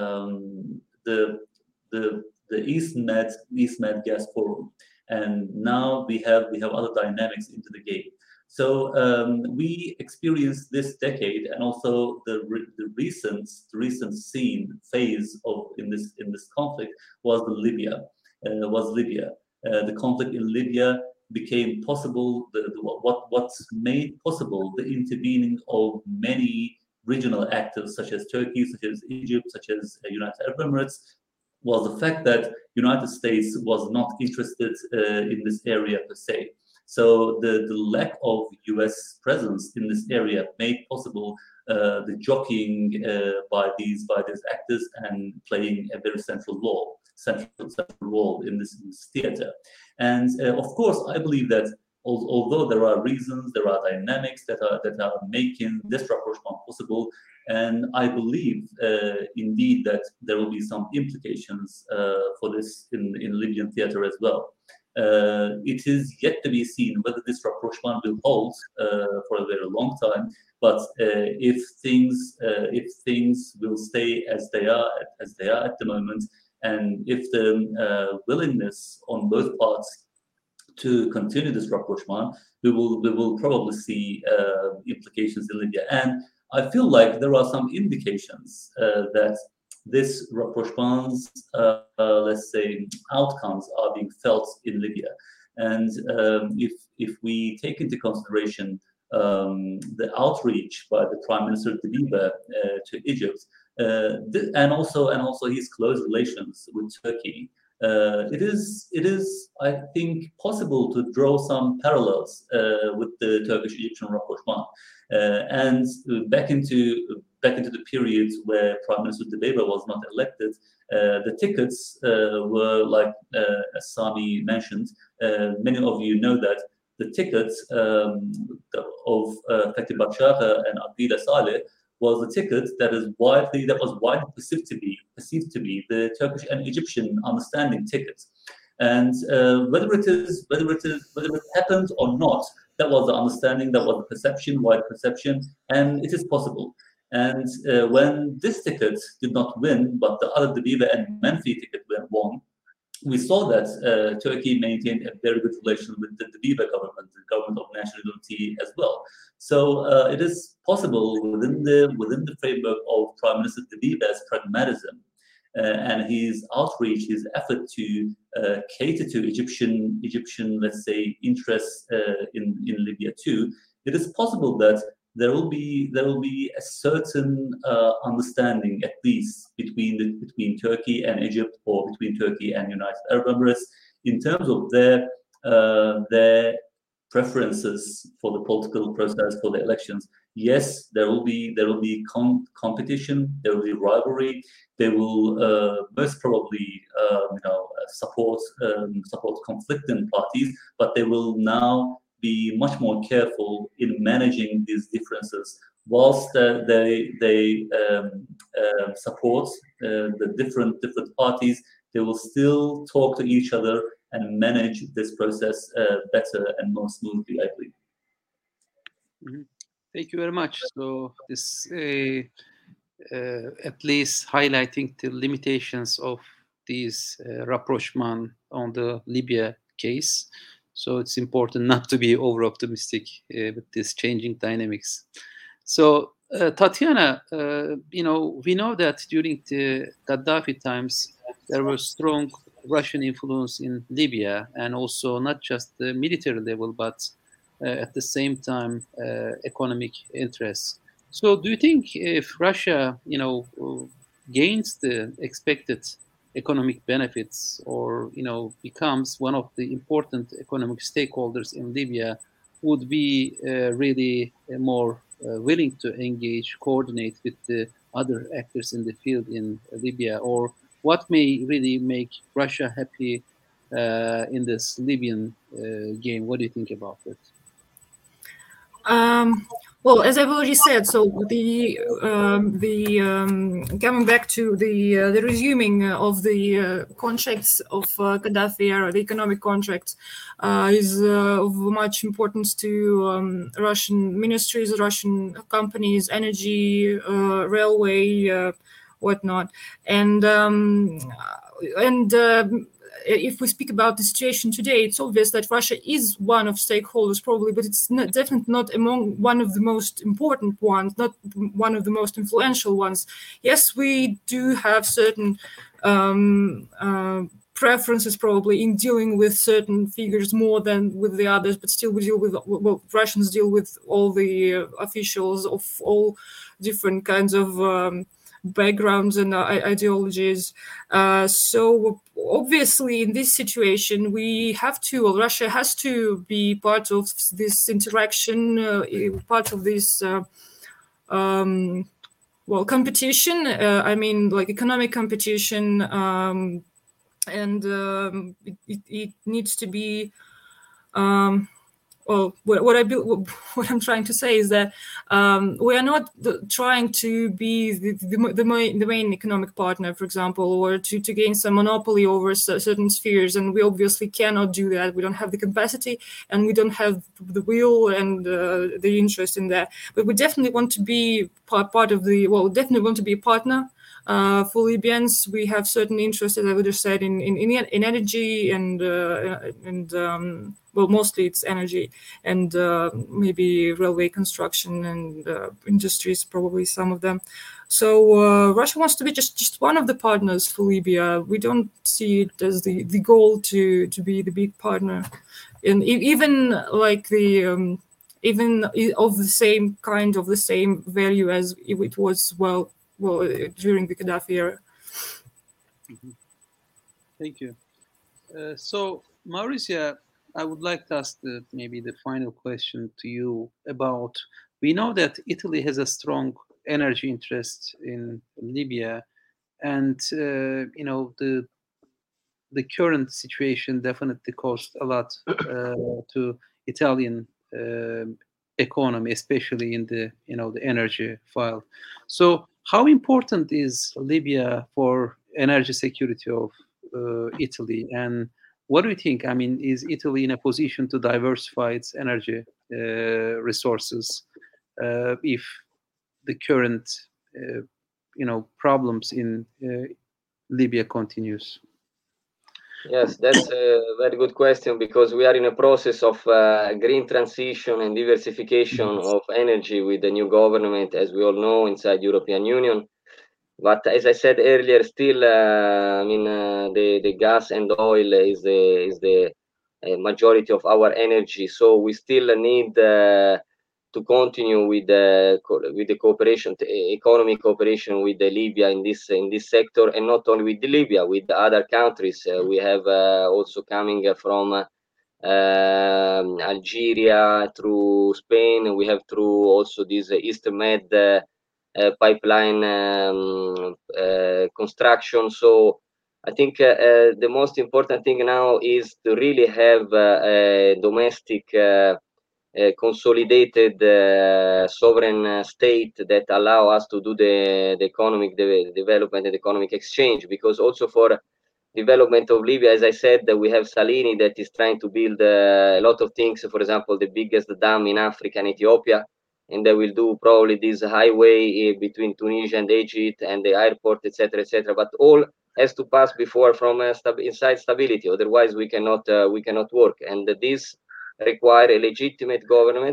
um, the the the East Med East Med Gas Forum. And now we have we have other dynamics into the game. So um, we experienced this decade, and also the, re the recent the recent scene phase of in this in this conflict was the Libya uh, was Libya. Uh, the conflict in Libya became possible. The, the, what what's made possible the intervening of many regional actors such as Turkey, such as Egypt, such as uh, United Arab Emirates, was the fact that United States was not interested uh, in this area per se. So the, the lack of U S presence in this area made possible uh, the jockeying uh, by these by these actors and playing a very central role, central, central role in this, in this theater. And uh, of course, I believe that al although there are reasons, there are dynamics that are that are making this rapprochement possible, and I believe uh, indeed that there will be some implications uh, for this in in Libyan theater as well. Uh, it is yet to be seen whether this rapprochement will hold uh, for a very long time. But uh, if things uh, if things will stay as they are as they are at the moment, and if the uh, willingness on both parts to continue this rapprochement, we will we will probably see uh, implications in Libya. And I feel like there are some indications uh, that this rapprochement's, uh, uh, let's say, outcomes are being felt in Libya. And um, if if we take into consideration um, the outreach by the Prime Minister Dbeibeh uh, to Egypt, uh, and also and also his close relations with Turkey, uh, it is it is I think possible to draw some parallels uh, with the Turkish-Egyptian rapprochement. Uh, and back into back into the periods where Prime Minister Dbeibeh was not elected, uh, the tickets uh, were like, uh, as Sami mentioned, uh, many of you know that the tickets um, of uh, Fethi Bachagha and Aqila Saleh was a ticket that is widely that was widely perceived to be perceived to be the Turkish and Egyptian understanding ticket. And uh, whether it is whether it is whether it happened or not, that was the understanding, that was the perception, wide perception, and it is possible. And uh, when this ticket did not win, but the other Dbeibeh and Menfi ticket won, we saw that uh, Turkey maintained a very good relation with the Dbeibeh government, the government of national unity as well. So uh, it is possible within the within the framework of Prime Minister Dbeibeh's pragmatism uh, and his outreach, his effort to uh, cater to Egyptian Egyptian, let's say, interests uh, in in Libya too. It is possible that there will be there will be a certain uh, understanding, at least between the, between Turkey and Egypt, or between Turkey and United Arab Emirates, in terms of their uh, their preferences for the political process, for the elections. Yes, there will be there will be com competition, there will be rivalry. They will uh, most probably uh, you know support um, support conflicting parties, but they will now be much more careful in managing these differences, whilst uh, they they um, uh, support uh, the different different parties. They will still talk to each other and manage this process uh, better and more smoothly, I believe. Mm-hmm. Thank you very much. So this uh, uh, at least highlighting the limitations of these uh, rapprochement on the Libya case. So it's important not to be over-optimistic uh, with this changing dynamics. So uh, Tatiana, uh, you know, we know that during the Gaddafi times, there was strong Russian influence in Libya, and also not just the military level, but uh, at the same time, uh, economic interests. So do you think if Russia, you know, gains the expected economic benefits, or you know becomes one of the important economic stakeholders in Libya, would be uh, really uh, more uh, willing to engage, coordinate with the other actors in the field in Libya? Or what may really make Russia happy uh, in this Libyan uh, game? What do you think about it? Um, well, as I've already said, so the um, the um, coming back to the uh, the resuming of the uh, contracts of uh, Gaddafi, or the economic contracts, uh, is uh, of much importance to um, Russian ministries, Russian companies, energy, uh, railway, uh, whatnot, and um, and. Uh, if we speak about the situation today, it's obvious that Russia is one of stakeholders probably, but it's not, definitely not among one of the most important ones, not one of the most influential ones. Yes, we do have certain um, uh, preferences probably in dealing with certain figures more than with the others, but still we deal with, well, Russians deal with all the uh, officials of all different kinds of um, backgrounds and uh, ideologies. Uh, so obviously in this situation, we have to, well, Russia has to be part of this interaction, uh, part of this uh, um, well, competition. Uh, I mean, like economic competition, um, and um, it, it, it needs to be. Um, well, what, what I what I'm trying to say is that um, we are not the, trying to be the, the, the, main, the main economic partner, for example, or to, to gain some monopoly over certain spheres, and we obviously cannot do that. We don't have the capacity, and we don't have the will and uh, the interest in that. But we definitely want to be part, part of the. Well, definitely want to be a partner. Uh, for Libyans, we have certain interests, as I would have said, in in, in energy and uh, and um, well, mostly it's energy and uh, maybe railway construction and uh, industries, probably some of them. So uh, Russia wants to be just, just one of the partners for Libya. We don't see it as the, the goal to to be the big partner, and even like the um, even of the same kind of the same value as it was well. Well, during the Gaddafi era. Mm-hmm. Thank you. Uh, so, Mauricia, I would like to ask the, maybe the final question to you about, we know that Italy has a strong energy interest in Libya, and, uh, you know, the the current situation definitely cost a lot uh, to Italian uh, economy, especially in the, you know, the energy file. So, how important is Libya for energy security of uh, Italy? And what do you think? I mean, is Italy in a position to diversify its energy uh, resources uh, if the current, uh, you know, problems in uh, Libya continues? Yes, that's a very good question, because we are in a process of uh, green transition and diversification of energy with the new government, as we all know, inside European Union. But as I said earlier, still, uh, I mean, uh, the the gas and oil is the is the uh, majority of our energy. So we still need uh, to continue with the with the cooperation, economic cooperation with the Libya in this in this sector, and not only with the Libya, with the other countries. Uh, we have uh, also coming from uh, um, Algeria through Spain. We have through also this East Med uh, uh, pipeline um, uh, construction. So I think uh, uh, the most important thing now is to really have uh, a domestic uh, uh, consolidated uh, sovereign uh, state that allow us to do the, the economic de development and economic exchange, because also for development of Libya, as I said, that we have Salini that is trying to build uh, a lot of things. For example, the biggest dam in Africa and Ethiopia, and they will do probably this highway between Tunisia and Egypt and the airport, et cetera, et cetera. But all has to pass before from uh, stab inside stability. Otherwise, we cannot uh, we cannot work. And this require a legitimate government.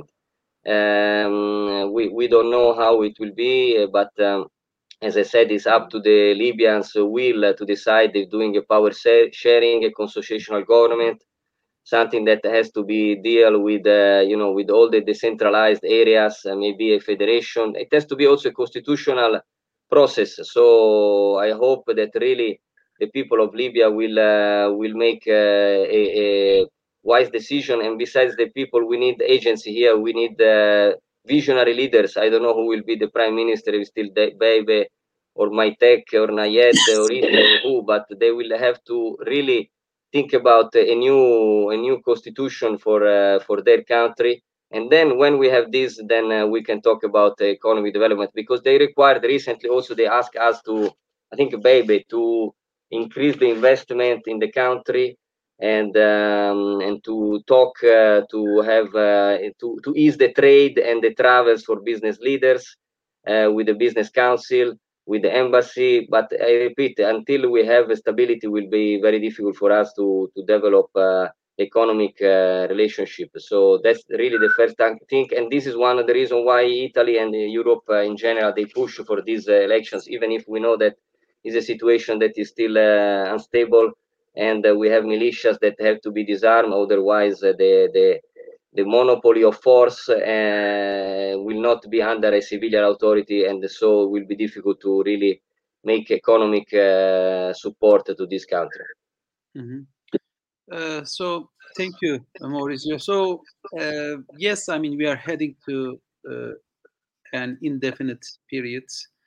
Um, we we don't know how it will be, but um, as I said, it's up to the Libyans' will to decide if doing a power sharing, a constitutional government, something that has to be deal with, uh, you know, with all the decentralized areas, uh, maybe a federation. It has to be also a constitutional process. So I hope that really the people of Libya will uh, will make uh, a, a wise decision. And besides the people, we need agency here. We need uh, visionary leaders. I don't know who will be the prime minister, if still Bebe or Maitek or Nayet or Issa, who, but they will have to really think about a new a new constitution for uh, for their country. And then when we have this, then uh, we can talk about uh, economic development, because they required recently also, they asked us to, I think, Bebe, to increase the investment in the country, and um, and to talk uh, to have uh, to to ease the trade and the travels for business leaders uh, with the business council. with the embassy. But I repeat, until we have stability, it will be very difficult for us to to develop uh, economic uh, relationship. So that's really the first thing, and this is one of the reasons why Italy and Europe uh, in general, they push for these uh, elections, even if we know that is a situation that is still uh, unstable, and uh, we have militias that have to be disarmed. Otherwise, uh, the the the monopoly of force uh, will not be under a civilian authority, and so it will be difficult to really make economic uh, support to this country. Mm-hmm. Uh, so thank you, Maurizio. So uh, yes, I mean we are heading to uh, an indefinite period.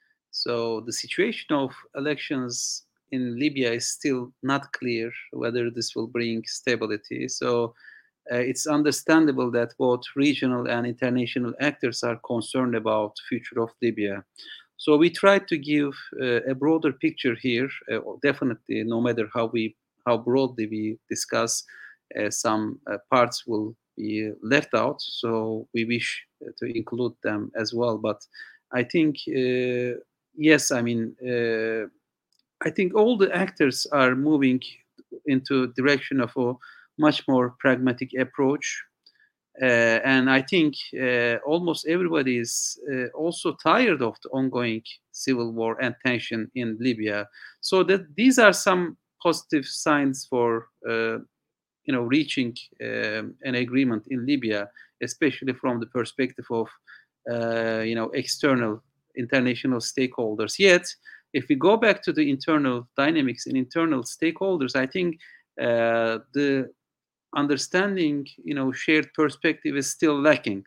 So the situation of elections in Libya is still not clear whether this will bring stability. So uh, it's understandable that both regional and international actors are concerned about the future of Libya. So we tried to give uh, a broader picture here. Uh, definitely, no matter how we how broadly we discuss, uh, some uh, parts will be left out. So we wish to include them as well. But I think uh, yes, I mean uh, I think all the actors are moving into direction of a much more pragmatic approach. Uh, and I think uh, almost everybody is uh, also tired of the ongoing civil war and tension in Libya. So that these are some positive signs for uh, you know reaching um, an agreement in Libya, especially from the perspective of uh, you know external international stakeholders. Yet, if we go back to the internal dynamics and internal stakeholders, I think uh, the understanding, you know, shared perspective is still lacking.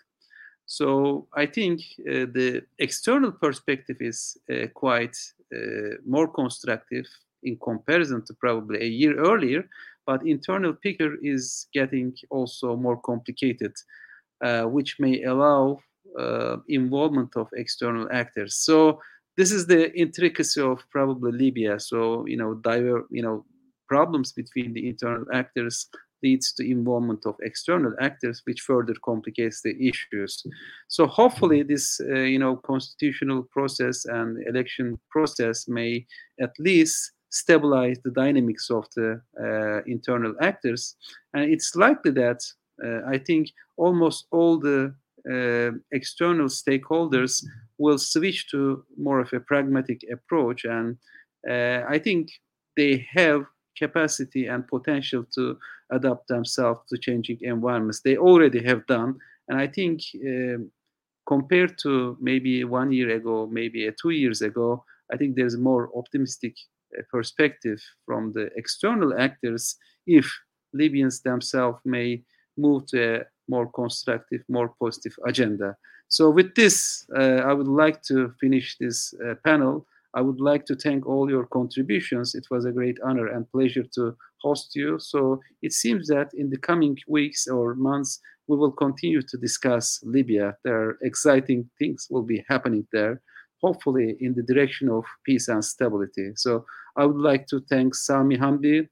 So I think uh, the external perspective is uh, quite uh, more constructive in comparison to probably a year earlier, but internal picture is getting also more complicated, uh, which may allow uh, involvement of external actors. So this is the intricacy of probably Libya. So you know, diver, you know, problems between the internal actors leads to involvement of external actors, which further complicates the issues. So hopefully, this uh, you know constitutional process and election process may at least stabilize the dynamics of the uh, internal actors, and it's likely that uh, I think almost all the uh, external stakeholders will switch to more of a pragmatic approach, and uh, I think they have capacity and potential to adapt themselves to changing environments. They already have done, and I think um, compared to maybe one year ago, maybe uh, two years ago, I think there's more optimistic uh, perspective from the external actors if Libyans themselves may move to a more constructive, more positive agenda. So with this, uh, I would like to finish this uh, panel. I would like to thank all your contributions. It was a great honor and pleasure to host you. So it seems that in the coming weeks or months, we will continue to discuss Libya. There are exciting things will be happening there, hopefully in the direction of peace and stability. So I would like to thank Sami Hamdi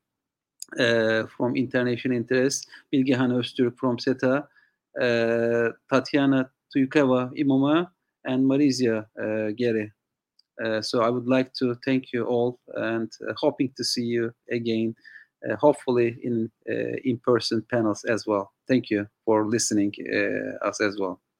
uh, from International Interest, Bilgehan Öztürk from SETA, uh, Tatiana Tuykava Imoma, and Marizia uh, Gere. Uh, so I would like to thank you all and uh, hoping to see you again, uh, hopefully in uh, in-person panels as well. Thank you for listening uh, us as well.